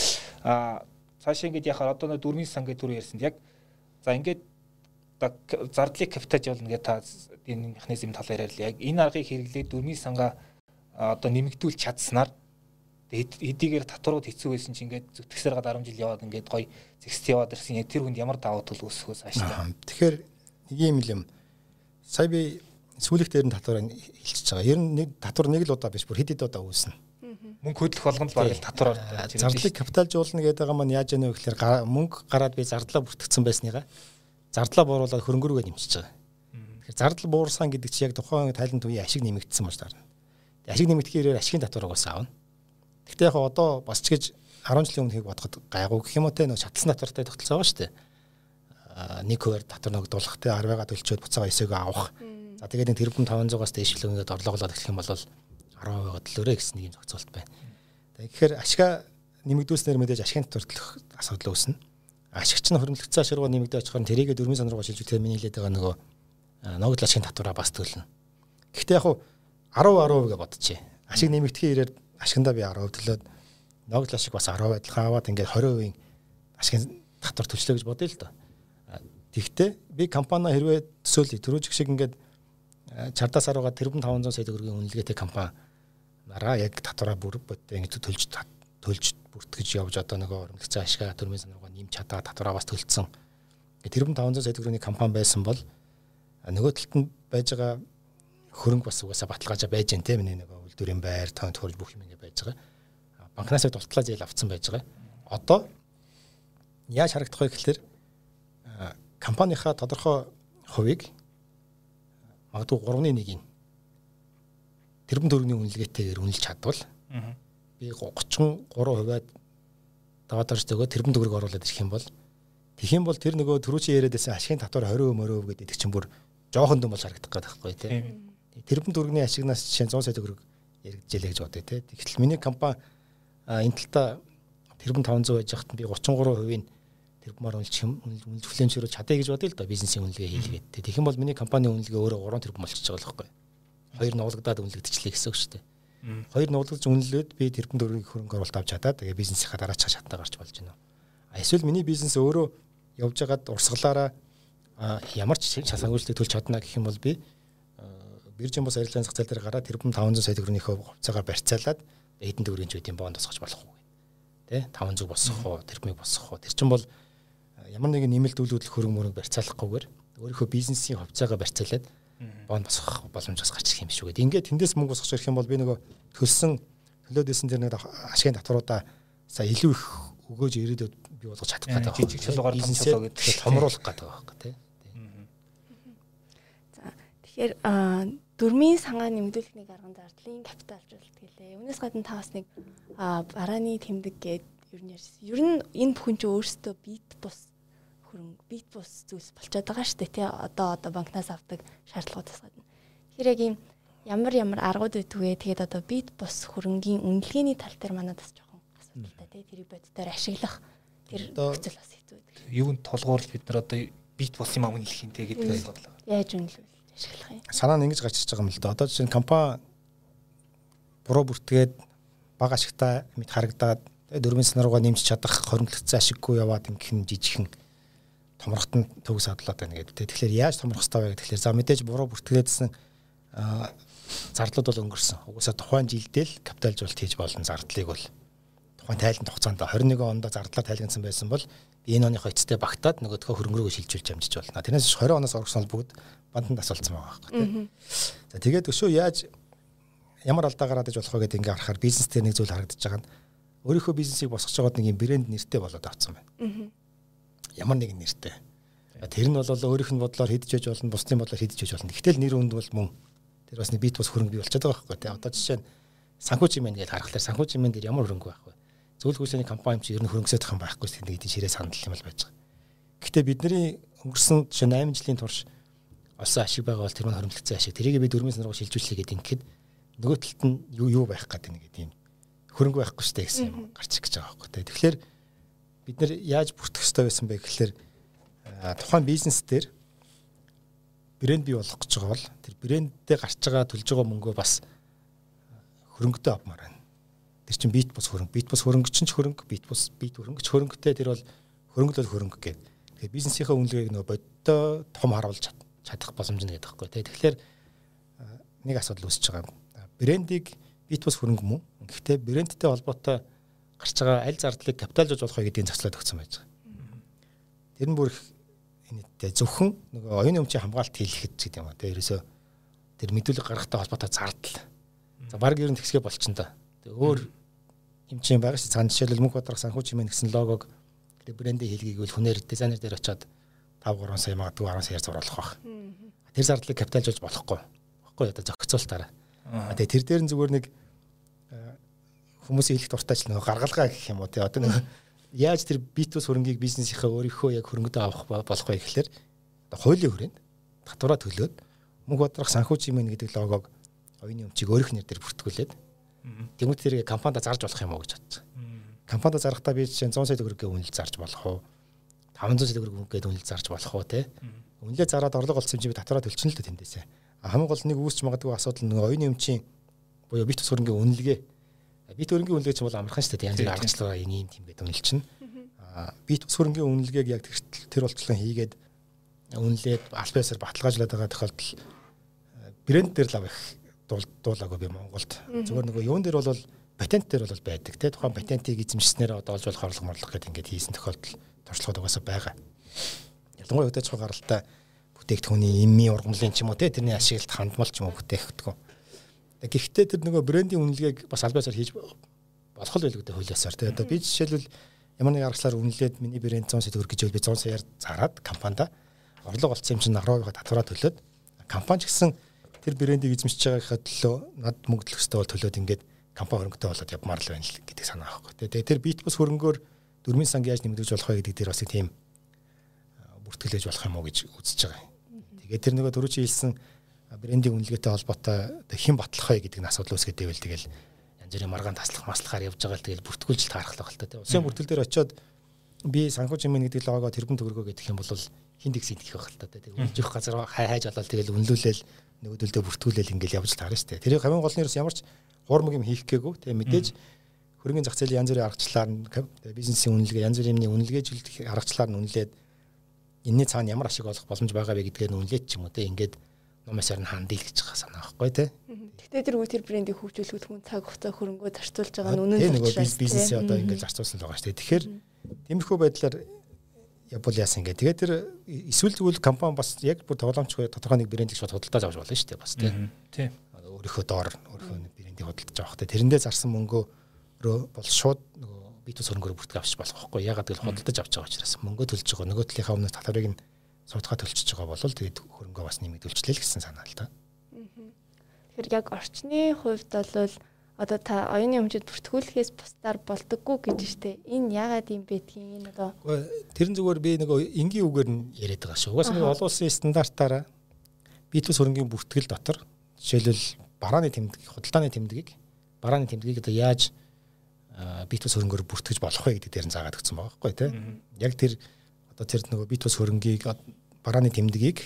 а цаашаа ингээд яхаар одоо дөрмийн сан гэдэг түр ярьсан. Яг за ингээд зардлыг капиталжуулна гэдэг та энэ механизм талаар ярьлаа. Яг энэ аргыг хэрэглээд дөрмийн сангаа одоо нэмэгдүүлж чадсанаар хэдийгээр татварууд хэцүү байсан чинь ингээд зүтгэсээр гад арван жил яваад ингээд гоё зэгсд яваад ирсэн. Яг тэр хүнд ямар даваа тал үүсвээс ааштай. Тэгэхээр нэг юм юм. Сая би сүүлэх дээр нь татварыг хэлчихэж байгаа. Ер нь нэг татвар нэг л удаа биш бүр хэд хэд удаа үүснэ. Мөнгө хөдлөх болгонд баг л татвар ордог. Зардлыг капиталжуулна гэдэг байгаа маань яаж яана вэ гэхээр мөнгө гараад би зардлаа бүртгэгдсэн байсныгаа зардлаа бууруулаад хөрөнгө рүүгээ нэмчихэж байгаа. Тэгэхээр зардал буурсан гэдэг чинь яг тухайн тайланд үеийн ашиг нэмэгдсэн болж таарна. Ашиг нэмэгдэхээр ашигын татвар угаасаа авна. Гэхдээ яг одоо бас ч гэж арван жилийн өмнөхийг бодоход гайгүй гэх юм уу те нөө шатлсан татвартай тогтолцоо байгаа шүү дээ. Нэг хуваар татвар ногдуулах те арвайгаа төлчөөд буцаага эсээгөө авах. За тэгээд нэг тэрбум таван зугаас дээш л ингээд орлогоолоод эхлэх юм бол арван хувиа төлөөрэй гэсэн нэг юм зохицуулт байна. Тэгэхээр ашигаа нэмэгдүүлснээр мэдээж ашигын татвар төлөх асуудал үүснэ. Ашигч нь хөрөнгөлөгцөө ашигруу нэмэгдэж очихоор тэрийгэ дөрмийн сан руугаа шилжүүлэхээр миний хэлээд байгаа нөгөө ногдол ашигын татвараа бас төлнө. Гэхдээ яг арав арав гэж бодчихъя. Ашиг нэмэгдэхийн ирээр ашигндаа би арав төлөөд ногдол ашиг бас арав адилхан аваад ингээд двадцать хувийн ашигын татвар төлчлөө гэж бодъё л доо. Тэгвэл би компани хэрвээ төсөөлөе түрүүжих шиг ингээд чардаас аруугаа тэрбум таван зуун сая төгрөгийн үнэлгээтэй компани нараа яг татвараа бүр бодтой ингэж төлж төлж бүртгэж явж одоо нөгөө хөрөнгөлөгцөө ашигаа дөрмийн сан руугаа нэмж чадаа татвараа бас төлцсөн. Тэрбум таван зуун сая төгрөгийн компани байсан бол нөгөө талд нь байж байгаа хөрөнгө бас угаасаа баталгаажаа байж гэн тийм нэг үйлдвэрийн байр тоо тохиолж бүх юм ингэ байж байгаа. Банкнаас дултлаа зээл авцсан байж байгаа. Одоо яаж харагдах вэ гэхээр компанийнхаа тодорхой хувийг магадгүй гурван нэгийг тэрбум төгрөгийн үнэлгээтэйгээр үнэлж чадвал би тридцать три хувиад даваад орж өгөө тэрбум төгрөг оруулаад ирэх юм бол тэгэх юм бол тэр нөгөө түрүүчийн яриад байсан ашигын татвар двадцать мөрөв гэдэг чинь бүр жоохон дэм бол харагдах гэдэг байхгүй тий. Тэрбум дүүргний ашигнаас жишээ зуун сая төгрөг яригдчихлээ гэж бодъё тий. Тэгэхдээ миний компани энэ талдаа тэрбум таван зуун байж хахад би гучин гурван хувийн тэрбумаар үнэлж үнэлж хүлэмжшөрөж чадъя гэж бодъё л да бизнесийн үнэлгээ хийлгээд. Тэгэх юм бол миний компани үнэлгээ өөрөө гурван тэрбум болчихж байгаа л байхгүй. Хоёр нуулгадаад үнэлэгдчихлээ гэсэн үг шүү дээ. Хоёр нуулгаж үнэлээд би тэрбум дөрвийг хөрөнгө оруулалт авч чадаад тэгээ бизнесийнхаа дараач шатаа гарч болж байна. Эсвэл миний бизнес өөрөө явж байгаад урсгалаараа ямар ч санхүүжилтийг төлж чадна гэх юм бол би биржийн бос арилжааны зах зээл дээр гараад тэрбум таван зуун сая төгрөгийнхөө хувьцаагаар барьцаалаад эдэн төгрөгийн ч үеийн бонд босгож болох уу тий таван зуун босгох уу тэрбумыг босгох уу тэр чинь бол ямар нэгэн нэмэлт үйл хөдлөх хөрөнгө мөрөг барьцаалахгүйгээр өөрийнхөө бизнесийн хувьцаагаа барьцаалаад бонд босгох боломжоос гарч ирэх юм биш үү гэдэг. Ингээд тэндээс мөнгө босгож ирэх юм бол би нөгөө төлсөн төлөөдөөсөн тэр нэг ашигын татваруудаа сая илүү их өгөөж ирээдүйд бий болгож чадах гэдэг. Жижиг чулуугаар том чулуу гэдэг томруулах гэдэг байгаа тий. За тэгэхээр дөрмийн сангаа нэмэгдүүлэхний арган зардлын капиталжуулалт гэлээ. Үүнээс гадна та бас нэг барааны тэмдэг гээд ер нь ярьсан. Ер нь энэ бүхэн чинь өөрсдөө бит бус хөрөнгө бит бус зүйлс болчиход байгаа шүү дээ тий. Одоо одоо банкнаас авдаг шаардлагуудаас гадна. Тэгэхээр яг ийм ямар ямар аргууд өгдөгөө тэгээд одоо бит бус хөрөнгийн үнэлгээний тал дээр манад бас жоохон асуудалтай тий. Тэрийг боддоор ашиглах тэр нөхцөл бас хэцүү байдаг. Юунд тулгуурлаж бид нар одоо бит бус юм үнэлэх юм тий гэдэг асуудал. Яаж үнэлвэл ашиглах юм? Санаа нь ингэж гарч ирж байгаа юм л да. Одоо жишээ нь компани буруу бүртгээд бага ашигтай мэд харагдаад дөрвийн санаруугаа нэмж чадах хоримтлогдсон ашиггүй яваад ингэх нь жижигхэн томрохтон төгс хадлаад байна гэдэг. Тэгэхээр яаж томрох хэрэгтэй вэ гэхээр за мэдээж буруу бүртгээдсэн зардлууд бол өнгөрсөн. Угсаа тухайн жилдээ л капиталжуулалт хийж болно зардлыг бол тухайн тайлбар хугацаанд двадцать и онд зардлаа тайлгнасан байсан бол би энэ оны эцэстээ багтаад нөгөөдхөө хөрөнгөрөөгөө шилжүүлж амжиж болно. Тэрнээс двадцать оноос орсон бол бүгд банданд асуулцсан байгаа байхгүй. За тэгээд өшөө яаж ямар алдаа гараад иж болох вэ гэдэг ингээ харахаар бизнес дээр нэг зүйл харагдаж байгаа нь өөрийнхөө бизнесийг босгож байгаад нэг юм брэнд нэртэй болоод авцсан байна. Ямар нэгэн нэртэй. Тэр нь бол өөрийнх нь бодлоор хийдэж яж болно, бусдын бодлоор хийдэж яж болно. Гэтэл нэр үнд бол мөн тэр бас нэг бит бус хөрөнгө бий болчиход байгаа байхгүй. Одоо жишээ нь санхүү чимэн гэж харахаар санхүү чимэн дээр ямар хөрөнгө байх вэ? Зөвлөх үйлчилгээний компани ч ер нь хөрөнгөсөйдөх юм байхгүй тийм нэг ширээ санал юм л байж байгаа. Гэхдээ бидний өнгөрсөн жишээ восемь жилийн турш олсон ашиг байгаа бол тэр мань хөрөнгөлцсөн ашиг. Тэрийг би дөрвийн санаргуу шилжүүлчихлээ гэдэг ингээд нөгөө талд нь юу юу байх гэдэг нэг тийм хөрөнгө байхгүй штэ гэсэн юм гарч ирж байгаа байхгүй. Тэгэхээр бид нэр яаж бүртгэх ёстой байсан бэ гэхээр тухайн бизнес дээр брэнд бий болгох гэж байгаа бол тэр брэндтэй гарч байгаа төлж байгаа мөнгөө бас хөрөнгөтэй авмаар байна. Тэр чинь бит бус хөрөнгө, бит бус хөрөнгө чинь ч хөрөнгө, бит бус бит хөрөнгө ч хөрөнгөтэй тэр бол хөрөнгөлөл хөрөнгө гэдэг. Тэгэхээр бизнесийнхээ үнэлгээг нөгөө бодтой том харуулж чадах боломж нь гэдэг байхгүй. Тэгэхээр нэг асуудал үүсэж байгаа. Брендийг бит бус хөрөнгө мөн. Гэхдээ брэндтэй холбоотой гарч байгаа аль зардлыг капиталжуулж болох вэ гэдгийг зохицуулаад өгсөн байж байгаа. Тэр нь бүр энэтэй зөвхөн нөгөө оюуны өмчийн хамгаалалт хийлгэхэд гэдэг юм аа. Тэгээ ерөөсөө тэр мэдүүлэг гаргахтай холбоотой зардал. За баг ер нь тэгсгээ болчихно да. Тэгээ өөр эмчийн байгаа ш. Цаана жишээлбэл Мөнх Баатарх санхүү чимээ гэсэн логог тэр брендийн хэлгийг хүнээр дизайнер дээр очиод five гурван сая магадгүй ten саяар зуруулах байх. Тэр зардлыг капиталжуулж болохгүй. Баггүй одоо зохицуултаараа. Тэгээ тэр дээр нь зүгээр нэг хүмүүсийн хэлэх дуртайч нэг гаргалгаа гэх юм уу тий. Одоо нэг яаж тэр битус хөрөнгийг бизнесийнхээ өөрийнхөө яг хөрөнгөдөө авах болох вэ гэхээр одоо хуулийн хүрээнд татвараа төлөөд Мөнх Баатарх санхүү чимээ гэдэг логог оюуны өмчийг өөрийнх нэр дээр бүртгүүлээд тэмүүлт тэрийг компанид зарж болох юм уу гэж бодсон. Компанид зарахтаа би жишээ one hundred сая төгрөгийн үнэлж зарж болох уу? five hundred сая төгрөгийн үнэлгээд үнэлж зарж болох уу те? Үнэлээ зараад орлого олсон юм чи би татвараа төлчихнө л дээ тэндээсээ. Хамгийн гол нэг үүсч магадгүй асуудал нэг оюуны өмчийн буюу бит ус хөрөнгийн үнэлгээ. Бит хөрөнгийн үнэлгээ чинь бол амархан шүү дээ. Янз бүрийн аргачлалаа ийм тийм гэдэг үнэлчихнэ. Аа бит ус хөрөнгийн үнэлгээг яг тэр болцлон хийгээд үнэлээд аль биесээр баталгаажлаад байгаа тохиолдол брэнд дээр л авах дуулаагүй би Монголд. Зүгээр нөгөө юун дээр бол патент дээр бол байдаг те. Тухайн патентийг эзэмшснээр одоо олж болох орлого морлох гэдэг ингээд хийсэн тохиолдол туршлагууд угаасаа байгаа. Ялангуяа өдөөж байгаа гаралтай бүтээгдэхүүний эмийн ургамлын ч юм уу те тэрний ашиглалт хандмал ч юм уу бүтээгдэхүүн. Гэхдээ тэр нөгөө брендийн үнэлгээг бас аль биесээр хийж болох л байлгүй дээ хуулиасаар те. Одоо би жишээлбэл ямар нэг аргачлаар үнэлээд миний брэнд one hundred сая төгрөг гэж би one hundred саяар зараад компанид орлого олцсон юм чинь ахраа татвараа төлөөд компани ч гэсэн тэр брендийг эзэмшиж байгаагаа төлөө над мөнгө төлөх ёстой бол төлөөд ингээд компани хөрөнгөтэй болоод явмаар л байна л гэдэг санаа авахгүй. Тэгээ тэр бит бус хөрөнгөөр дөрмийн санг яаж нэмэгдэж болох вэ гэдэг дээр бас тийм бүртгэлээж болох юм уу гэж үзэж байгаа. Тэгээд тэр нөгөө дөрөв чи хэлсэн брендинг үнэлгээтэй холбоотой хэн батлах вэ гэдэг нь асуудал үүсгээд байвал тэгэл янз бүрийн маргаан таслах маслахаар явж байгаа л тэгэл бүртгүүлжилт харахлах л та тийм. Усын бүртгэл дээр очиод би санхүү жимэн гэдэг логоо тэрбум төгрөгөө гэдэг юм бол хин дэгс идэх байх л та тийм. Үнэлж явах газар хайж олоод тэгэл үнэлүүлээл нөгөөдөлдөө бүртгүүлээл ингээл явж таарна шүү дээ. Тэр хамгийн гол нь ямар ч хуурмаг юм хийх гээгүй тийм мэдээж хөрөнгөний зах зээлийн янз бүрийн аргачлалаар нь бизнесийн үнэлгээ янз бүрийн үнэлгээжүүлэх аргачлалаар нь үнэлээд энэний цаана ямар ашиг олох боломж байгаа вэ гэдгээр нь үнэлээд ч юм уу тийм ингээд номосоор нь хандъя гэж байгаа санаа байхгүй тий. Гэхдээ тэр үе тэр брендийг хөгжүүлэхэд хүн цаг хугацаа хөрөнгөө зарцуулж байгаа нь үнэн зөв нөгөө бизнесээ одоо ингээд зарцуулсан л байгаа шүү дээ. Тэгэхээр тиймэрхүү байдлаар явбал яасан ингээд тэгээд тэр эсвэл зөвхөн компани бас яг бүр тоглоомчгүй тодорхой нэг брендийг шууд худалдаж авч болно шүү дээ бас тий. Тий. Өөрийнхөө доор өөрийнхөө брендийг худалдаж авах тий. Тэрэндээ зарсан мөнгөөрөө бол шууд нөгөө бие тус хөрөнгөөр бүртгэж авчих болох байхгүй. Ягаад гэвэл худалдаж авч байгаа учраас мөнгө төлж байгаа нөгөө талынхаа өмнө татварыг нь судалгаа төлчихөж байгаа бол тэгээд хөрөнгөө бас нэмэгдүүлчихлээ л гэсэн санаа л та. Тэгэхээр яг орчны хувьд бол одоо та оюуны хэмжээнд бүртгүүлэхээс бусдаар болдоггүй гэж штэ. Энэ ягаад юм бэ гэдгийг энэ одоо тэрэн зүгээр би нөгөө энгийн үгээр нь яриад байгаа шүү. Угаасаа нэг олон улсын стандартаараа бие тус хөрөнгөний бүртгэл дотор жишээлбэл барааны тэмдэг, худалдааны тэмдгийг барааны тэмдгийг одоо яаж бие тус хөрөнгөөр бүртгэж болох вэ гэдэг дээр нь заагаад өгсөн байгаа байхгүй тий. Яг тэр одоо тэр нөгөө бие тус хөрөнгийг барааны тэмдгийг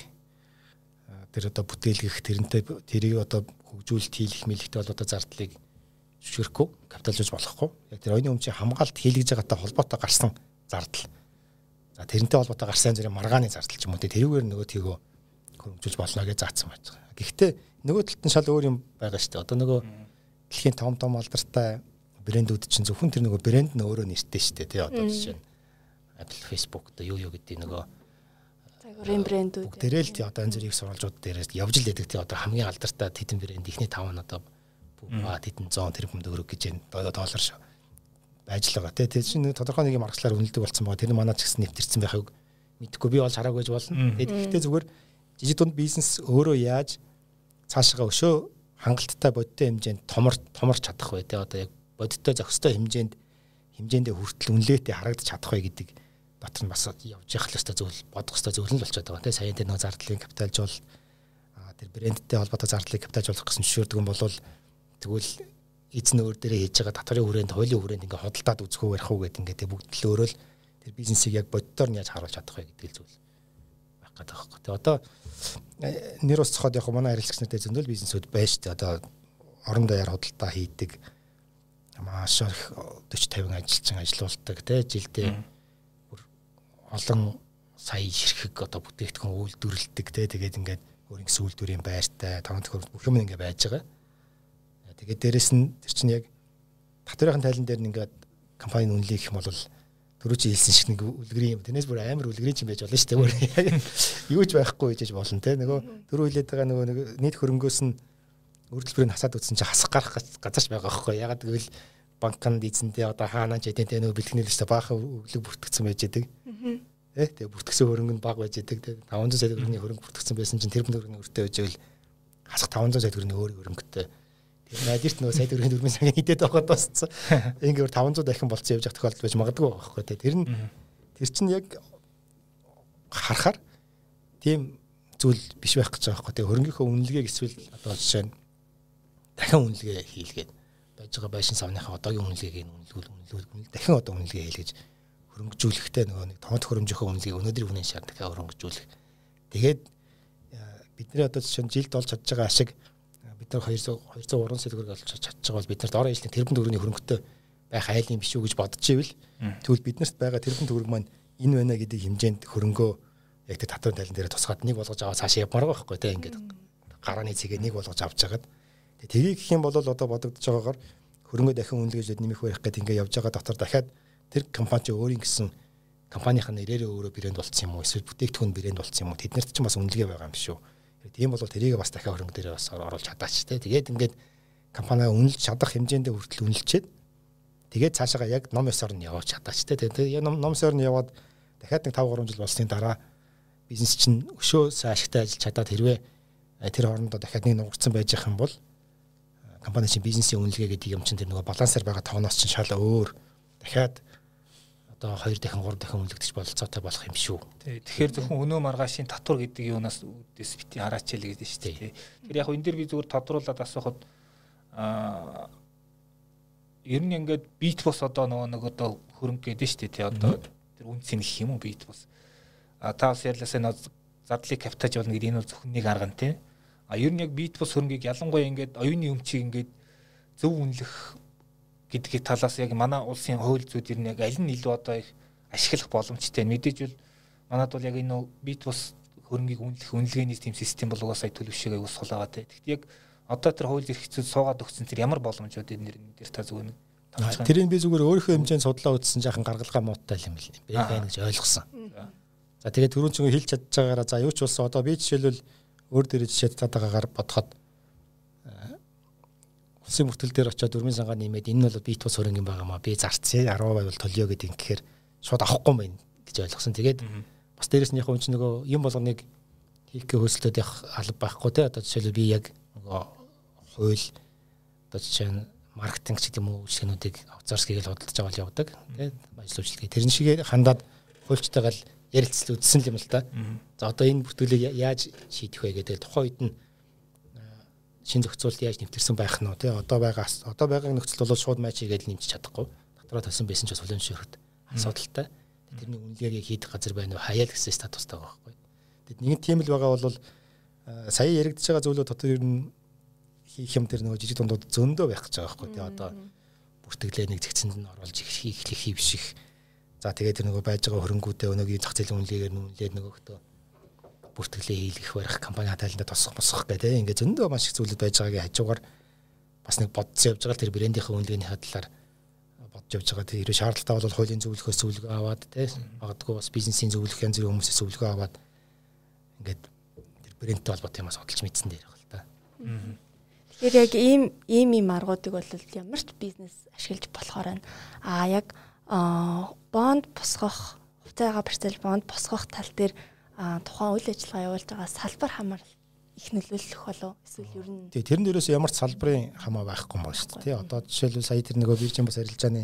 тэр одоо бүтээлгэх тэрнтэй тэрийг одоо хөгжүүлэлт хийх мэлхтэй бол одоо зардлыг зөвшөөрөхгүй капиталжуулж болохгүй. Яг тэр оюуны өмчийн хамгаалт хийлгэж байгаатай холбоотой гарсан зардал. За тэрнтэй холбоотой гарсан зэрэг маргааны зардал ч юм уу тэрүүгээр нөгөө тийгөө хөрөнгөжүүлж болно гэж заасан байж байгаа. Гэхдээ нөгөө талд нь шал өөр юм байгаа шүү дээ. Одоо нөгөө дэлхийн том том алдартай брэндүүд чинь зөвхөн тэр нөгөө брэнд нь өөрөө нэртэй шүү дээ. Тэ одоо жишээ нь Apple, Facebook одоо юу юу гэдэг нөгөө загварын брэндүүд тэрэл тий одоо янз бүрийн сурвалжууд дээрээс явж л байдаг тий одоо хамгийн алдартай тэдэн брэнд ихний тав нь одоо ба тэдэн зуун тэрбум төгрөг гэж энэ доллар шүү байж л байгаа тий тэр чинь тодорхой нэг юм аргачлаар үнэлдэг болсон байгаа тэр манаа ч гэсэн нэвтэрсэн байхыг мэдэхгүй би бол хараагүй гэж болно. Тэгэхдээ зүгээр жижиг дунд бизнес өөрөө яаж цаашгаа өшөө хангалттай бодиттой хэмжээнд томор томорч чадах вэ тий одоо яг бодиттой зохистой хэмжээнд хэмжээндээ хүртэл үнэлгээтэй харагдаж чадах вэ гэдэг дотор нь бас явж явах л өстой зөвл бодох өстой зөвл нь болчиход байгаа тийм саяын тэр нэг зардлын капиталжуул тэр брэндтэй холбоотой зардлыг капиталжуулах гэсэн зөвшөөрдөг юм бол тэгвэл эзэн өөр дээрээ хийж байгаа татварын хүрээнд хуулийн хүрээнд ингээ хөдөлтаад үзэх үү ярих уу гэдэг ингээ тийм бүгд л өөрөө л тэр бизнесийг яг боддоор нь яаж харуулж чадах вэ гэдэг л зөвл байх гэдэг байхгүй. Тэгээ одоо нэр ус цохоод яг манай харилцагч нартай зөндөл бизнесүүд байж тээ одоо орон даяар худалдаа хийдэг маш их forty fifty ажилчин ажилуулдаг тий жилдээ олон сая ширхэг одоо бүтээгдэхүүн үйлдвэрлэдэг тий тэгээд ингээд өөр ингэ сүүлдвэрийн байртай таван төхөр бүх юм ингэ байж байгаа. Тэгээд дээрэс нь тэр чинь яг татварын тайлан дээр нь ингээд компанийн үнэлэх юм бол дөрөв чи хэлсэн шиг нэг үлгэрийн юм. Тэрнээс бүр амар үлгэрийн ч юм байж болно шүү дээ. Юу ч байхгүй гэж болно тий нөгөө дөрөв хэлээд байгаа нөгөө нэг нийт хөрөнгөөс нь үйлдвэрийг хасаад үтсэн чи хасах гарах газарч байгаа байхгүй. Ягаад гэвэл банкнд эзэндээ одоо хаанаа ч эдэнтэй нөгөө бэлтгэний листэ баахан өглөг бүртгэсэн байж байгаа. Тэ тэгээ бүртгэсэн хөрөнгө нь бага байж байгаа. Тэгээ five hundred сая төгрөгийн хөрөнгө бүртгэсэн байсан чинь тэр төгрөгийн өртөө байж байвал хасах five hundred сая төгрөгийн өөр хөрөнгөтэй. Тэр найдирт нөгөө сая төгрөгийн дөрвөн цагийн хидэд байгаад дууссан. Ингээд five hundred дахин болцсон явж явах тохиолдол байж магадгүй байхгүй тэ. Тэр нь тэр чинь яг харахаар тийм зүйл биш байх гэж байгаа байхгүй. Тэгээ хөрөнгийнхөө үнэлгээг эсвэл одоо жишээ нь дахин үнэлгээ хийлгээд байж байгаа байшин савныхаа одоогийн үнэлгээг нь үнэлгүүл үнэлгүүл дахин одоо үнэлгээ хийлгэж хөрөнгөжүүлэхтэй нөгөө нэг томот хөрөмжийнхөө үнэлгээг өнөөдрийн үнийн шаар дахиад хөрөнгөжүүлэх. Тэгээд бидний одоо жишээ нь жилд олж чадж байгаа ашиг бид нар two hundred two hundred сая төгрөг олж чадж байгаа бол бид нарт орон ижлийн тэрбум төгрөгийн хөрөнгөтэй байх айлын биш үү гэж бодож ивэл тэгвэл биднэрт байгаа тэрбум төгрөг маань энэ байна гэдэг хэмжээнд хөрөнгөө яг тэр татварын тайлан дээр тусгаад нэг болгож аваад цаашаа явмаар байгаа байхгүй тийм ингээд гарааны цэгээ нэг болгож авч жагаад тэгээ гэх юм бол одоо бодогдож байгаагаар хөрөнгө дахин үнэлгээж нэмэх байх гэдэг ингээд явж байгаа дотор дахиад тэр компани ч өөрийн гэсэн компанийн нэрээрээ өөрөө брэнд болцсон юм уу эсвэл бүтээгдэхүүн брэнд болцсон юм уу тэднэрт ч бас үнэлгээ байгаа юм шүү. Тийм бол тэрийг бас дахиад хөрөнгө дээрээ бас оруулж чадаач те. Тэгээд ингээд компаниа үнэлж чадах хэмжээндээ хүртэл үнэлчихэд тэгээд цаашаа яг ном ёсоор нь явуулж чадаач те. Тэгээд ном ёсоор нь яваад дахиад нэг five three жил болсны дараа бизнес чинь өшөө ашигтай ажиллаж чадаад хэрвээ тэр хоорондоо дахиад нэг нугарсан байж явах юм бол компани чинь бизнесийн үнэлгээ гэдэг юм чинь тэр нөгөө балансаар байгаа тооноос чинь шал өөр дахиад одоо хоёр дахин гурав дахин үнэлэгдэж бололцоотой болох юм шүү. Тий. Тэгэхээр зөвхөн өнөө маргаашийн татвар гэдэг юунаас үүдээс бити хараач л гэдэг шүү дээ. Тэр яг энэ дэр би зүгээр тодруулаад асуухад аа ер нь ингээд бит бос одоо нөгөө нэг одоо хөрөнгө гэдэг шүү дээ. Тий одоо тэр үнцэн гэх юм уу бит бос. А та бас ярьлаасаа нөгөө зардлыг капитаж болно гэдэг энэ бол зөвхөн нэг арга нь тий. А ер нь яг бит бос хөрөнгийг ялангуяа ингээд оюуны өмчийг ингээд зөв үнэлэх гэдгийг талаас яг манай улсын хууль зүйд ер нь яг аль нь илүү одоо их ашиглах боломжтой. Мэдээж бол манад бол яг энэ бит бос хөрөнгийг үнэлэх үнэлгээний тийм систем бол угаасаа төлөвшөөгөө ус сулаагаад байна. Тэгэхдээ яг одоо тэр хууль эрх зүйд суугаад өгсөн тэр ямар боломжууд энэ нэр та зүгээр нэг тооцоо. Тэрийг би зүгээр өөрийнхөө хэмжээнд судлаа үзсэн жаахан гаргалгаа муутай юм байна гэж ойлгосон. За тэгээд түрүүн чинь хэлж чадж байгаагаараа за юу ч болсон одоо би жишээлбэл өөр дээр жишээ татаагаар бодоход улсын бүртгэл дээр очиод дөрмийн сангаа нэмээд энэ бол бит бос хөрөнгө юм байгаамаа би зарцъя арван хувь бол толио гэдэг ингэхээр шууд авахгүй юм байна гэж ойлгосон. Тэгээд бас дээрэс нь яг хүн чинь нөгөө юм болгоныг хийх гэх хөөслөд явах алба байхгүй те одоо жишээлбэл би яг нөгөө хууль одоо жишээ нь маркетинг ч гэдэг юм уу шинүүдийг авцаарсгийг л худалдаж байгаа л явдаг те ажил үйлчлэгээ тэрэн шиг хандаад хуульчтайгаа л ярилцлаа үдсэн юм л та. За одоо энэ бүртгэлийг яаж шийдэх вэ гэдэг тухайн үед нь шин зохицуулт яаж нэвтэрсэн байх нь тий одоо байгаа одоо байгаа нөхцөл бол шууд матч хийгээд нэмчих чадахгүй дотроо тавьсан байсан ч бас хүлэмжшөрөхөд асуудалтай тэрний үнэлгээгийг хийх газар байна уу хаяа л гэсэн статустай байгаа байхгүй. Тэгэд нэг тийм л байгаа бол сая яригдж байгаа зүйлүүд дотор ер нь хийх юм тэр нөгөө жижиг дундууд зөндөө байх гэж байгаа байхгүй тий одоо бүртгэлээ нэг зэгцэнд нь оруулж их хийх хийвших за тэгээд тэр нөгөө байж байгаа хөрөнгүүдээ өнөөгийн зах зээлийн үнэлгээгээр нүнлээд нөгөөхдөө бүртгэлээ хийх барих компани хатайланда тосох босох гэдэг ингээд зөндөө маш их зүйлүүд байж байгаагийн хажуугаар бас нэг бодсон явж байгаа тэр брендийнхээ үнэлгээний хадлаар бодж явж байгаа тэр ерөө шаардлагатай бол хуулийн зөвлөхөөс зөвлөгөө аваад тий магадгүй бас бизнесийн зөвлөх янз бүрийн хүмүүсээс зөвлөгөө аваад ингээд тэр брендтэй холбоотой юмас судалж мэдсэн дээр байна л та. Тэгэхээр яг ийм ийм ийм аргуудыг бол ямар ч бизнес ашиглаж болохоор байна. А яг бонд босгох хувьцаагаа барьцаал бонд босгох тал дээр тухайн үйл ажиллагаа явуулж байгаа салбар хамаар их нөлөөлөх болов эсвэл ер нь тий тэрэн дээрээс ямар ч салбарын хамаа байхгүй юм байна шүү дээ тий одоо жишээлбэл сая тэр нөгөө биржийн бас арилжааны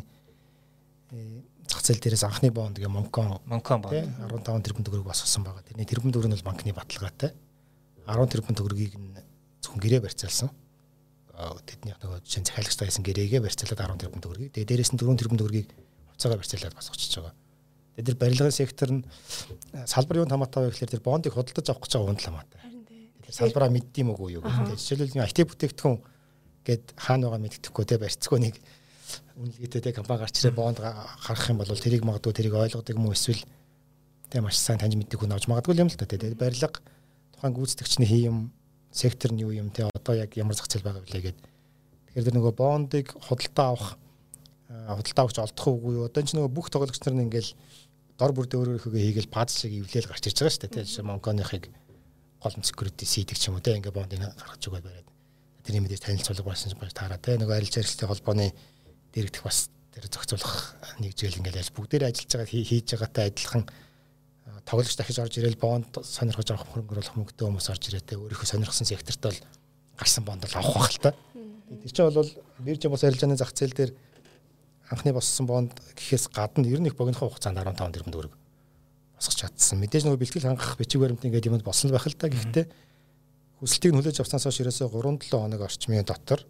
зах зээл дээрээс анхны бонд гэх Монкон Монкон бонд арван таван тэрбум төгрөг босгосон байгаа. Тэрний тэрбум төгрөг нь бол банкны баталгаатай арван тэрбум төгрөгийг нь зөвхөн гэрээ барьцаалсан. Тэднийх нөгөө жишээ нь захиалагчтай байсан гэрээгээ барьцаалаад арван тэрбум төгрөгийг тэгээ дээрээс нь дөрвөн тэрбум төгрөгийг хувьцаагаар барьцаалаад босгочихж байгаа. Тэгээд тэр барилгын сектор нь салбар юунд хамаатай вэ гэхээр тэр бондыг худалдаж авах гэж байгаа хүнд л хамаатай. Тэр салбараа мэддэм үгүй юу гэдэг. Жишээлбэл ай ти бүтээгдэхүүн гээд хаана байгаа мэддэхгүй те барьцгүй нэг үнэлгээтэй те компани гарч ирээ бонд гарах юм бол тэрийг магадгүй тэрийг ойлгодог юм уу эсвэл те маш сайн таньж мэддэг хүн авч магадгүй юм л та те. Тэгээд барилга тухайн гүйцэтгэгчний хий юм сектор нь юу юм те одоо яг ямар зах зээл байгаа вэ гэдэг. Тэгэхээр тэр нөгөө бондыг худалдаа авах худалдаа авч олдох уугүй юу. Одоо ч нөгөө бүх тоглогч нар нь ингээл дор бүрдээ өөрөөхөө хийгээл паз шиг эвлээл гарч ирж байгаа шүү дээ. Тийм Монконыхыг гол security сийдэг ч юм уу те ингээ бондыг гаргаж өгöd бариад. Тэрний мэдээж танилцуулга болсон ч байж таараа те нөгөө арилжаа хэрэгслийн холбооны дэрэгдэх бас тэр зохицуулах нэгжээл ингээл яаж бүгдээрээ ажиллаж байгаа хийж байгаатай адилхан тоглогч дахиж орж ирээл бонд сонирхож авах хөрөнгө оруулах мөнгөтэй хүмүүс орж ирээ те өөрийнхөө сонирхсан секторт бол гарсан бонд л авах байх л та. Тэр чинь бол биржийн бос арилжааны зах зээл дээр анхны боссон бонд гэхээс гадна ер нь их богинохоо хугацаанд арван таван тэрбум төгрөг босгож чадсан. Мэдээж нөгөө бэлтгэл хангах бичиг баримтын гэдэг юмд болсон байх л та. Гэхдээ хүсэлтийг нөлөөж авснаас хойш ерөөсөө гурван долоо хоног орчмын дотор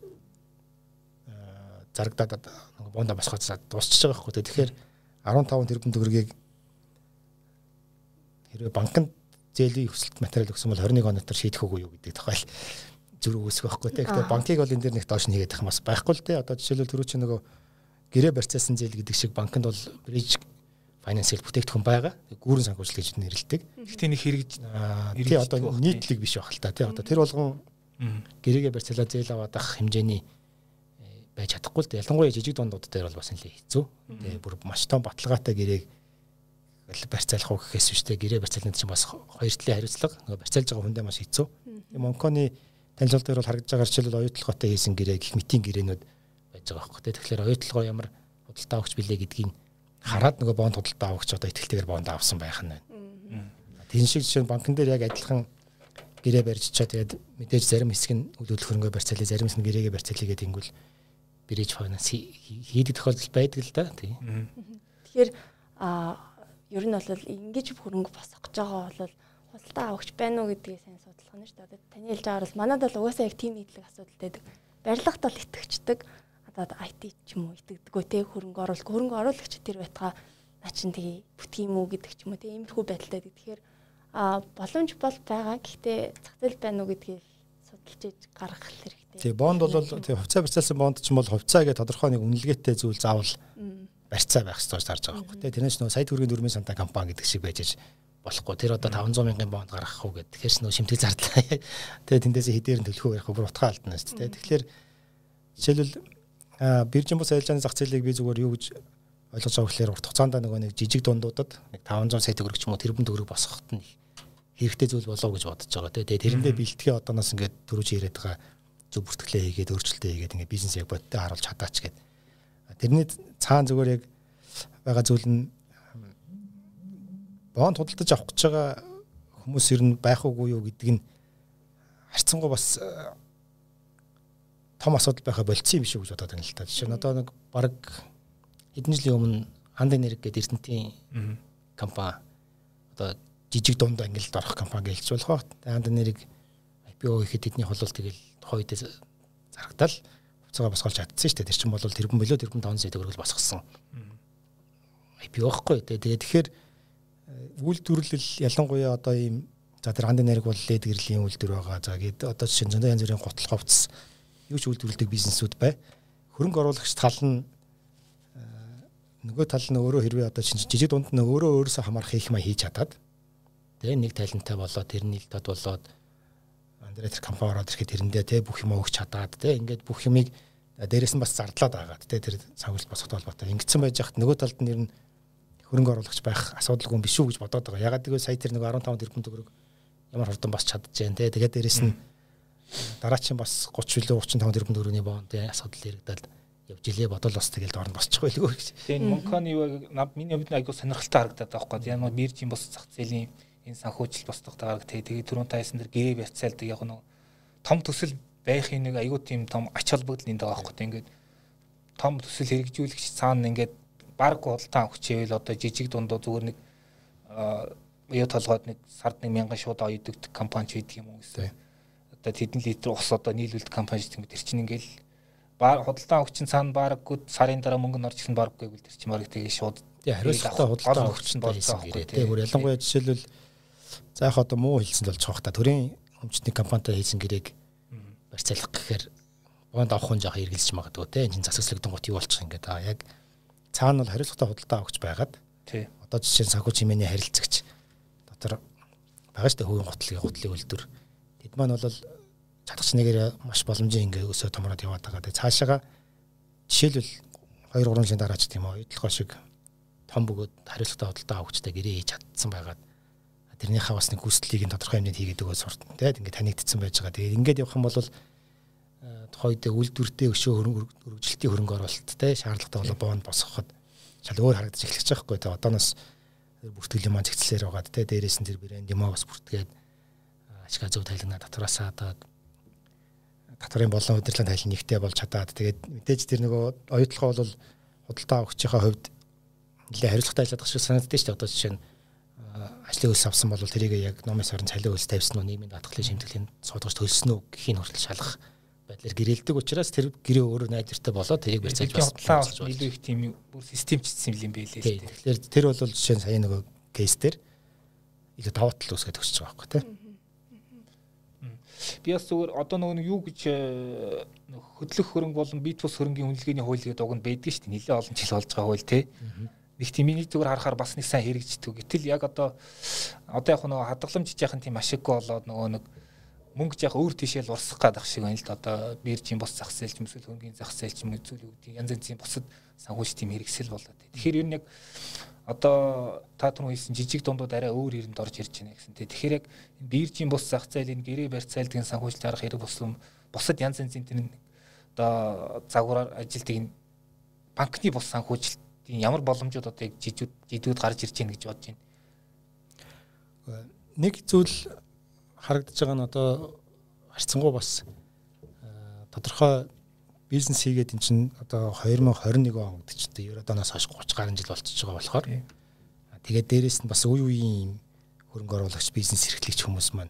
зарагдаад нөгөө бонда босгож дуусчихж байгаа байхгүй. Тэгэхээр арван таван тэрбум төгрөгийг хэрвээ банкнд зээлийн хүсэлт материал өгсөн бол двадцать нэг хоног дотор шийдэх үгүй юу гэдэг тухай зүрх үүсэх байхгүй. Тэгэхээр банкыг бол энэ дээр нэг доош нэгээд байх бас байхгүй л те. Одоо жишээлбэл түрүү чи нөгөө гэрээ барьцаасан зээл гэдэг шиг банкнд бол bridge financial бүтээгдэхүүн байгаа. Гүүрэн санхүүжил гэж нэрлэдэг. Гэхдээ нэг хэрэгж тий одоо нийтлэг биш байх л та тий одоо тэр болгон гэрээгээ барьцаалаа зээл аваад ах хэмжээний байж чадахгүй л дээ. Ялангуяа жижиг дундууд дээр бол бас нэлээ хэцүү. Тэгээ бүр маш том баталгаатай гэрээг барьцаалах уу гэхээс биш те гэрээ барьцаална чинь бас хоёр талын хариуцлага нөгөө барьцаалж байгаа хүндээ маш хэцүү. Монконы танилцуулт дээр бол харагдж байгаа жишээлбэл оюутлоготой хийсэн гэрээ гих мэтийн гэрээнүүд байж байгаа байхгүй те. Тэгэхээр оюутлогоо ямар худалдаа авахч билээ гэдгийг хараад нөгөө бонд худалдаа авахч одоо итгэлтэйгээр бонд авсан байх нь байна. Тийм шиг жишээ нь банкн дээр яг адилхан гэрээ барьжчаа тэгээд мэдээж зарим хэсэг нь үйл хөдлөх хөрөнгөө барьцаалаа, зарим хэсэг нь гэрээгээ барьцаалаа гэдэг ингүүл bridge finance хийдэг тохиолдол байдаг л да. Тийм. Тэгэхээр а ер нь бол ингэж хөрөнгө босгох гэж байгаа бол худалдаа авахч байна уу гэдгийг сайн судлах нь шүү дээ. Таны хэлж байгаа бол манайд бол угаасаа яг тийм нийтлэг асуудал байдаг. Барилгад бол итгэгчдэг. Одоо ай ти ч юм уу итгэдэггүй те хөрөнгө оруулалт хөрөнгө оруулагч тэр байтгаа наа чин тэгээ бүтгий юм уу гэдэг ч юм уу те иймэрхүү байдалтай. Тэгэхээр а боломж бол байгаа. Гэхдээ зах зээл байна уу гэдгийг судалж иж гаргах хэрэгтэй. Тий бонд бол тий хувьцаа барьцаалсан бонд ч юм бол хувьцаа гэдэг тодорхой нэг үнэлгээтэй зүйл заавал барьцаа байх ёстой гэж харж байгаа байхгүй тий. Тэрнээс нөө сая төгрөгийн дөрвөн сантаа компани гэдэг шиг байж болохгүй. Тэр одоо таван зуун мянган бонд гаргах уу гэдэг. Тэгэхээр нөө шимтэг зардлаа. Тэгээ тэндээс хэдээр нь төлөхөө ярих бүр утгаа алдна шүү дээ. Тэгэхээр жишээлбэл биржийн бус арилжааны зах зээлийг би зүгээр юу гэж ойлгож байгаа гэхээр урт хугацаанд нөгөө нэг жижиг дундуудад нэг таван зуун сая төгрөг ч юм уу тэрбум төгрөг босгоход нь хэрэгтэй зүйл болов гэж бодож байгаа. Тэгээ тэрэндээ бэлтгэе одооноос ингээд төрөж ирээд байгаа зөв бүртгэлээ хийгээд өөрчлөлтөө хийгээд ингээд бизнес яг бодтой харуулж чадаач гэдэг. Тэрний цаана зүгээр яг байгаа зүйл нь бонд худалдаж авах гэж байгаа хүмүүс ер нь байх уугүй юу гэдэг нь харьцангуй бас том асуудал байха болцсон юм шиг гэж бодоод байна л та. Жишээ нь одоо нэг баг хэдэн жилийн өмнө Анд энерги гэдэг Эрдэнэтийн компани одоо жижиг дунд ангилалд орох компани гэлж болох ба. Анд энерги ай пи о хийхэд тэдний холол тэгэл тухайд зарагдал хувьцаагаа босгуулж чадсан шүү дээ. Тэр чинь бол тэрбум билүү тэрбум таван сая төгрөг босгосон. ай пи о хгүй. Тэгээд тэгэхээр үйлдвэрлэл ялангуяа одоо ийм за тэр Анд энерги бол лед гэрлийн үйлдвэр байгаа. За гээд одоо жишээ нь зөндөө янз бүрийн гутал ховц юу ч үйлдвэрлэдэг бизнесүүд бай. Хөрөнгө оруулагч тал нь нөгөө тал нь өөрөө хэрвээ одоо жижиг дунд нь өөрөө өөрөөсөө хамаарах хийх маяг хийж чадаад тэгээ нэг таленттай болоод тэрний л тод болоод андреатер компани ороод ирэхэд тэрэндээ тэ бүх юм өгч чадаад тэ ингээд бүх юмыг дээрээс нь бас зардлаад агаад тэ тэр санхүүжилт босгохтой холбоотой ингэсэн байж хат нөгөө талд нь ер нь хөрөнгө оруулагч байх асуудалгүй биш үү гэж бодоод байгаа. Ягаад гэвэл сая тэр нэг арван таван тэрбум төгрөг ямар хурдан бас чадчихжээ тэ тэгээд дээрээс нь дараачин бас гучин билүү гучин таван тэрбум төгрөгийн бонд тэ асуудал яригдаад явж илээ бодол бас тэгэл доор нь босчих байлгүй гэж. Тэгээ Монконы юу над миний хувьд айгуу сонирхолтой харагдаад байгаа байхгүй. Ямар биржийн бос зах зээлийн энэ санхүүжилт босдогтой гараг тэгээ түрүүн тайсан дэр гэрээ барьцаалдаг яг нэг том төсөл байхын нэг айгуу тийм том ач холбогдол энд байгаа байхгүй. Ингээд том төсөл хэрэгжүүлэгч цаана ингээд баг худалдан авах чивэл одоо жижиг дундуу зүгээр нэг юу толгойд нэг сард нэг мянган шууд оёдогдох компани ч байдаг юм уу гэсэн. Одоо тэдэн литр ус одоо нийлүүлдэг компани ч юм. Тэр чинь ингээл худалдан авахчин цаана бараггүй сарын дараа мөнгө нь орж ирсэн бараггүй гэвэл тэр чинь бараг тэгээ шууд хариуцлагатай худалдан авахчин болсон гэрээ. Тэгээ бүр ялангуяа жишээлбэл за яг одоо муу хэлсэн болж байгаа та төрийн өмчтний компанитай хийсэн гэрээг барьцаалах гэхээр бонд авах нь жоохон эргэлж магадгүй те энэ засаглагдсан гот юу болчих ингээд аа яг цаана бол хариуцлагатай худалдан авахч байгаад тий одоо жишээ нь санхүү чимээний харилцагч дотор байгаа шүү дээ хөвийн готлыг готлыг үлдвэр тэд маань бол чадах нэгээр маш боломжийн ингээ өсөө томроод яваад байгаа. Тэгээ цаашаага жишээлбэл хоёр гурван жилийн дараа ч тийм үү оюутлогоо шиг том бөгөөд хариуцлагатай худалдаа авахчтай гэрээ хийж чадсан байгаад тэрнийхээ бас нэг хүслийг нь тодорхой хэмжээнд хийгээд өгөө сурт. Тэгээд ингээ танигдсан байж байгаа. Тэгээд ингээд явах юм бол тухайд үйлдвэртэй өшөө хөрөнгөлтийн хөрөнгө оруулалттай шаардлагатай болоо бонд босгоход шал өөр харагдаж эхэлж байгаа хгүй. Тэгээд одооноос бүртгэлийн маань зэгцлэр байгаад тэ дээрээс нь тэр брэнд юм аа бас бүртгээд ашиг зөв тайлгнаа татвараасаа одоо татварын болон удирдлагын тайлан нэгтэй болж чадаад тэгээд мэдээж тэр нөгөө оюутлогоо бол худалдаа авахчийнхаа хувьд нэлээд хариуцлагатай ажилладаг шиг санагддаг шүү дээ. Одоо жишээ нь ажлын хөлс авсан бол тэрийг яг номын сарын цалин хөлс тавьсан уу, нийгмийн даатгалын шимтгэлийн судалгаж төлсөн үү гэхийн хүртэл шалгах байдлаар гэрэлдэг учраас тэр гэрээ өөрөө найдвартай болоод тэрийг барьцаалж бас худалдаа илүү их тийм бүр системчилсэн юм байлээ шүү дээ. Тэгэхээр тэр бол жишээ нь сая нөгөө кейс дээр илүү даваа тал үүсгэж өгч байгаа байхгүй тийм. Би бас зүгээр одоо нөгөө юу гэж хөдлөх хөрөнгө болон бит бус хөрөнгийн үнэлгээний хууль гэдэг уг нь байдаг шүү дээ. Нэлээд олон жил болж байгаа хууль тий. Нэг тийм миний зүгээр харахаар бас нэг сайн хэрэгждэг. Гэтэл яг одоо одоо яг нөгөө хадгаламж жаахан тийм ашиггүй болоод нөгөө нэг мөнгө жаах өөр тийшээл урсах гадах шиг байна л да. Одоо биржийн бос зах зээлч юм эсвэл хөрөнгөний зах зээлч юм зүйл үүдийн янз янзын бусад санхүүжилт тийм хэрэгсэл болоод. Тэгэхээр ер нь яг одоо та түрүү хэлсэн жижиг дундууд арай өөр ирэнд орж ирж байна гэсэн. Тэгэхээр яг биржийн бус зах зээлийн гэрээ барьцаалдгийн санхүүжилт арга хэрэг болсон бусад янз янзын тэр одоо загвараар ажилтдаг банкны бус санхүүжилтийн ямар боломжууд одоо яг жижиг жидүүд гарч ирж байна гэж бодож байна. Нэг зүйл харагдаж байгаа нь одоо харьцангуй бас тодорхой бизнес хийгээд эн чинь одоо хоёр мың хорин нэг он гэдэг чинь ерөөдөөс хойш гурван гаруй жил болчихж байгаа болохоор Тэгээд дээрэс нь бас үе үеийн хөрөнгө оруулагч, бизнес эрхлэгч хүмүүс маань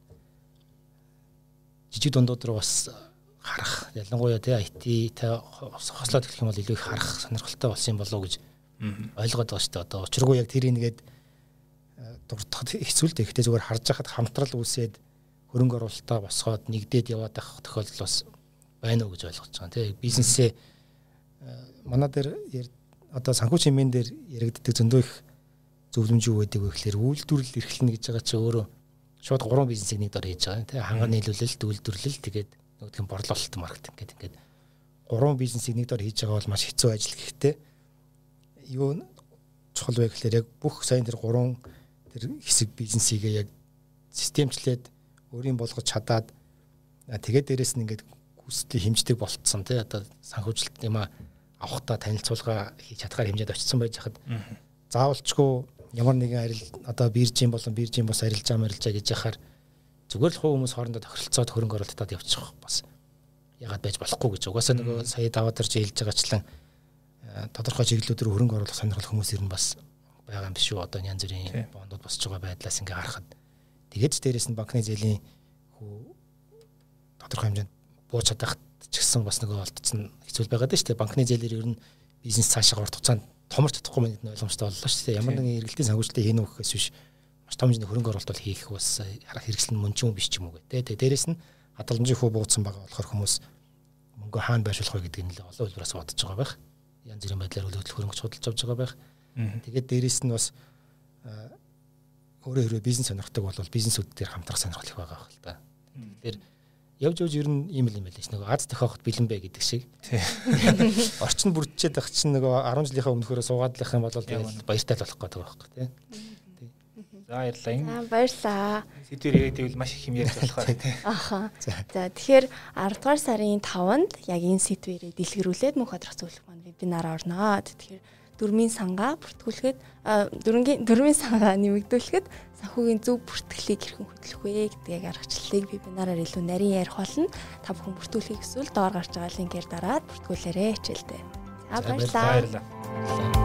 жижиг дундууд руу бас харах, ялангуяа тэ ай ти тэ хослоод эхлэх юм бол илүү их харах сонирхолтой болсон юм болов уу гэж ойлгоод байгаа шүү дээ. Одоо учиргүй яг тэр нэгээд дуртахад хэцүү л дээ. Гэхдээ зүгээр харж байхад хамтрал үүсээд хөрөнгө оруулалтаа босгоод нэгдээд яваад байх тохиолдол бас байна уу гэж ойлгож байгаа. Тэ бизнесээ манай дээр одоо санхүү чимээн дээр яригддаг зөндөө их зөвлөмж юу байдаг вэ гэхээр үйлдвэрлэл эрхлэнэ гэж байгаа чи өөрөө шууд гурван бизнесийг нэг дор хийж байгаа. Тэ ханга нийлүүлэлт, үйлдвэрлэл тэгээд нөгөөх нь борлуулалт, маркетинг гэдэг ингээд гурван бизнесийг нэг дор хийж байгаа бол маш хэцүү ажил. Гэхдээ юу чухал вэ гэхээр яг бүх сайн тэр гурван тэр хэсэг бизнесийг яг системчлээд өөрийн болгож чадаад тэгээд дээрэс нь ингээд хүслийн хэмждэг болцсон тий одоо санхүүжилт юм а авахта танилцуулга хийж чадхаар хэмжээд очсон байж хахад заавалчгүй ямар нэгэн арил одоо биржийн болон биржийн бос арилжаа марилжаа гэж яхаар зүгээр л хувь хүмүүс хоорондоо тохиролцоод хөрөнгө оруулалтад явчих бас ягаад байж болохгүй гэж угаасаа нөгөө сая даваа дээр хэлж байгаачлан тодорхой чиглэлүүдээр хөрөнгө оруулах сонирхол хүмүүс ер нь бас байгаа юм биш үү одоо янз бүрийн бондууд босч байгаа байдлаас ингээ харахад тэгээд ч дээрэс нь банкны зээлийн хүү тодорхой хэмжээнд бууж чадах ч гэсэн бас нөгөө олдсон хэцүү байгаад шүү дээ банкны зээлээр ер нь бизнес цаашаа урт хугацаанд томорч чадахгүй мэд ойлгомжтой боллоо шүү дээ ямар нэгэн эргэлтийн санхүүжилтийг хийнэ гэхээс биш маш том хэмжээний хөрөнгө оруулалт хийх бас харах хэрэгсэл нь мөн ч юм биш ч юм уу гэдэг. Дээрээс нь хадгаламжийн хүү бууцсан байгаа болохоор хүмүүс мөнгө хаана байршуулах вэ гэдгийг нэлээд олон хэлбэрээс бодож байгаа байх. Янз бүрийн байдлаар хөдөлгөх хөрөнгө судалж авч байгаа байх. Тэгээд дээрээс нь бас өөрөө хэрвээ бизнес сонирхдаг бол бизнесүүд дээр хамтрах сонирхол их байгаа байх л да. Тэгэхээр явж явж ер нь ийм л юм байл ш. Нөгөө аз тохиохот бэлэн бай гэдэг шиг. Орчин бүрдчихэд байх чинь нөгөө арван жилийнхаа өмнөхөөрөө суугадлах юм бол тэгэл баяртай л болох гэдэг байхгүй тий. За баярлалаа. Баярлалаа. Сэдвэр яриад байвал маш их юм ярьж болохоор тий. Аха. За тэгэхээр арав дугаар сарын таванд яг энэ сэдвэрээ дэлгэрүүлээд мөнх ходрох зөвлөх маань вебинар орноо. Тэгэхээр дөрмийн сангаа бүртгүүлэхэд дөрөнгийн дөрмийн сангаа нэмэгдүүлэхэд санхүүгийн зөв бүртгэлийг хэрхэн хөтлөх вэ гэдгийг аргачлалыг вебинараар илүү нарийн ярих болно. Та бүхэн бүртгүүлэхийг эсвэл доор гарч байгаа линкээр дараад бүртгүүлээрэй хичээлдээ. За баярлалаа. Баярлалаа.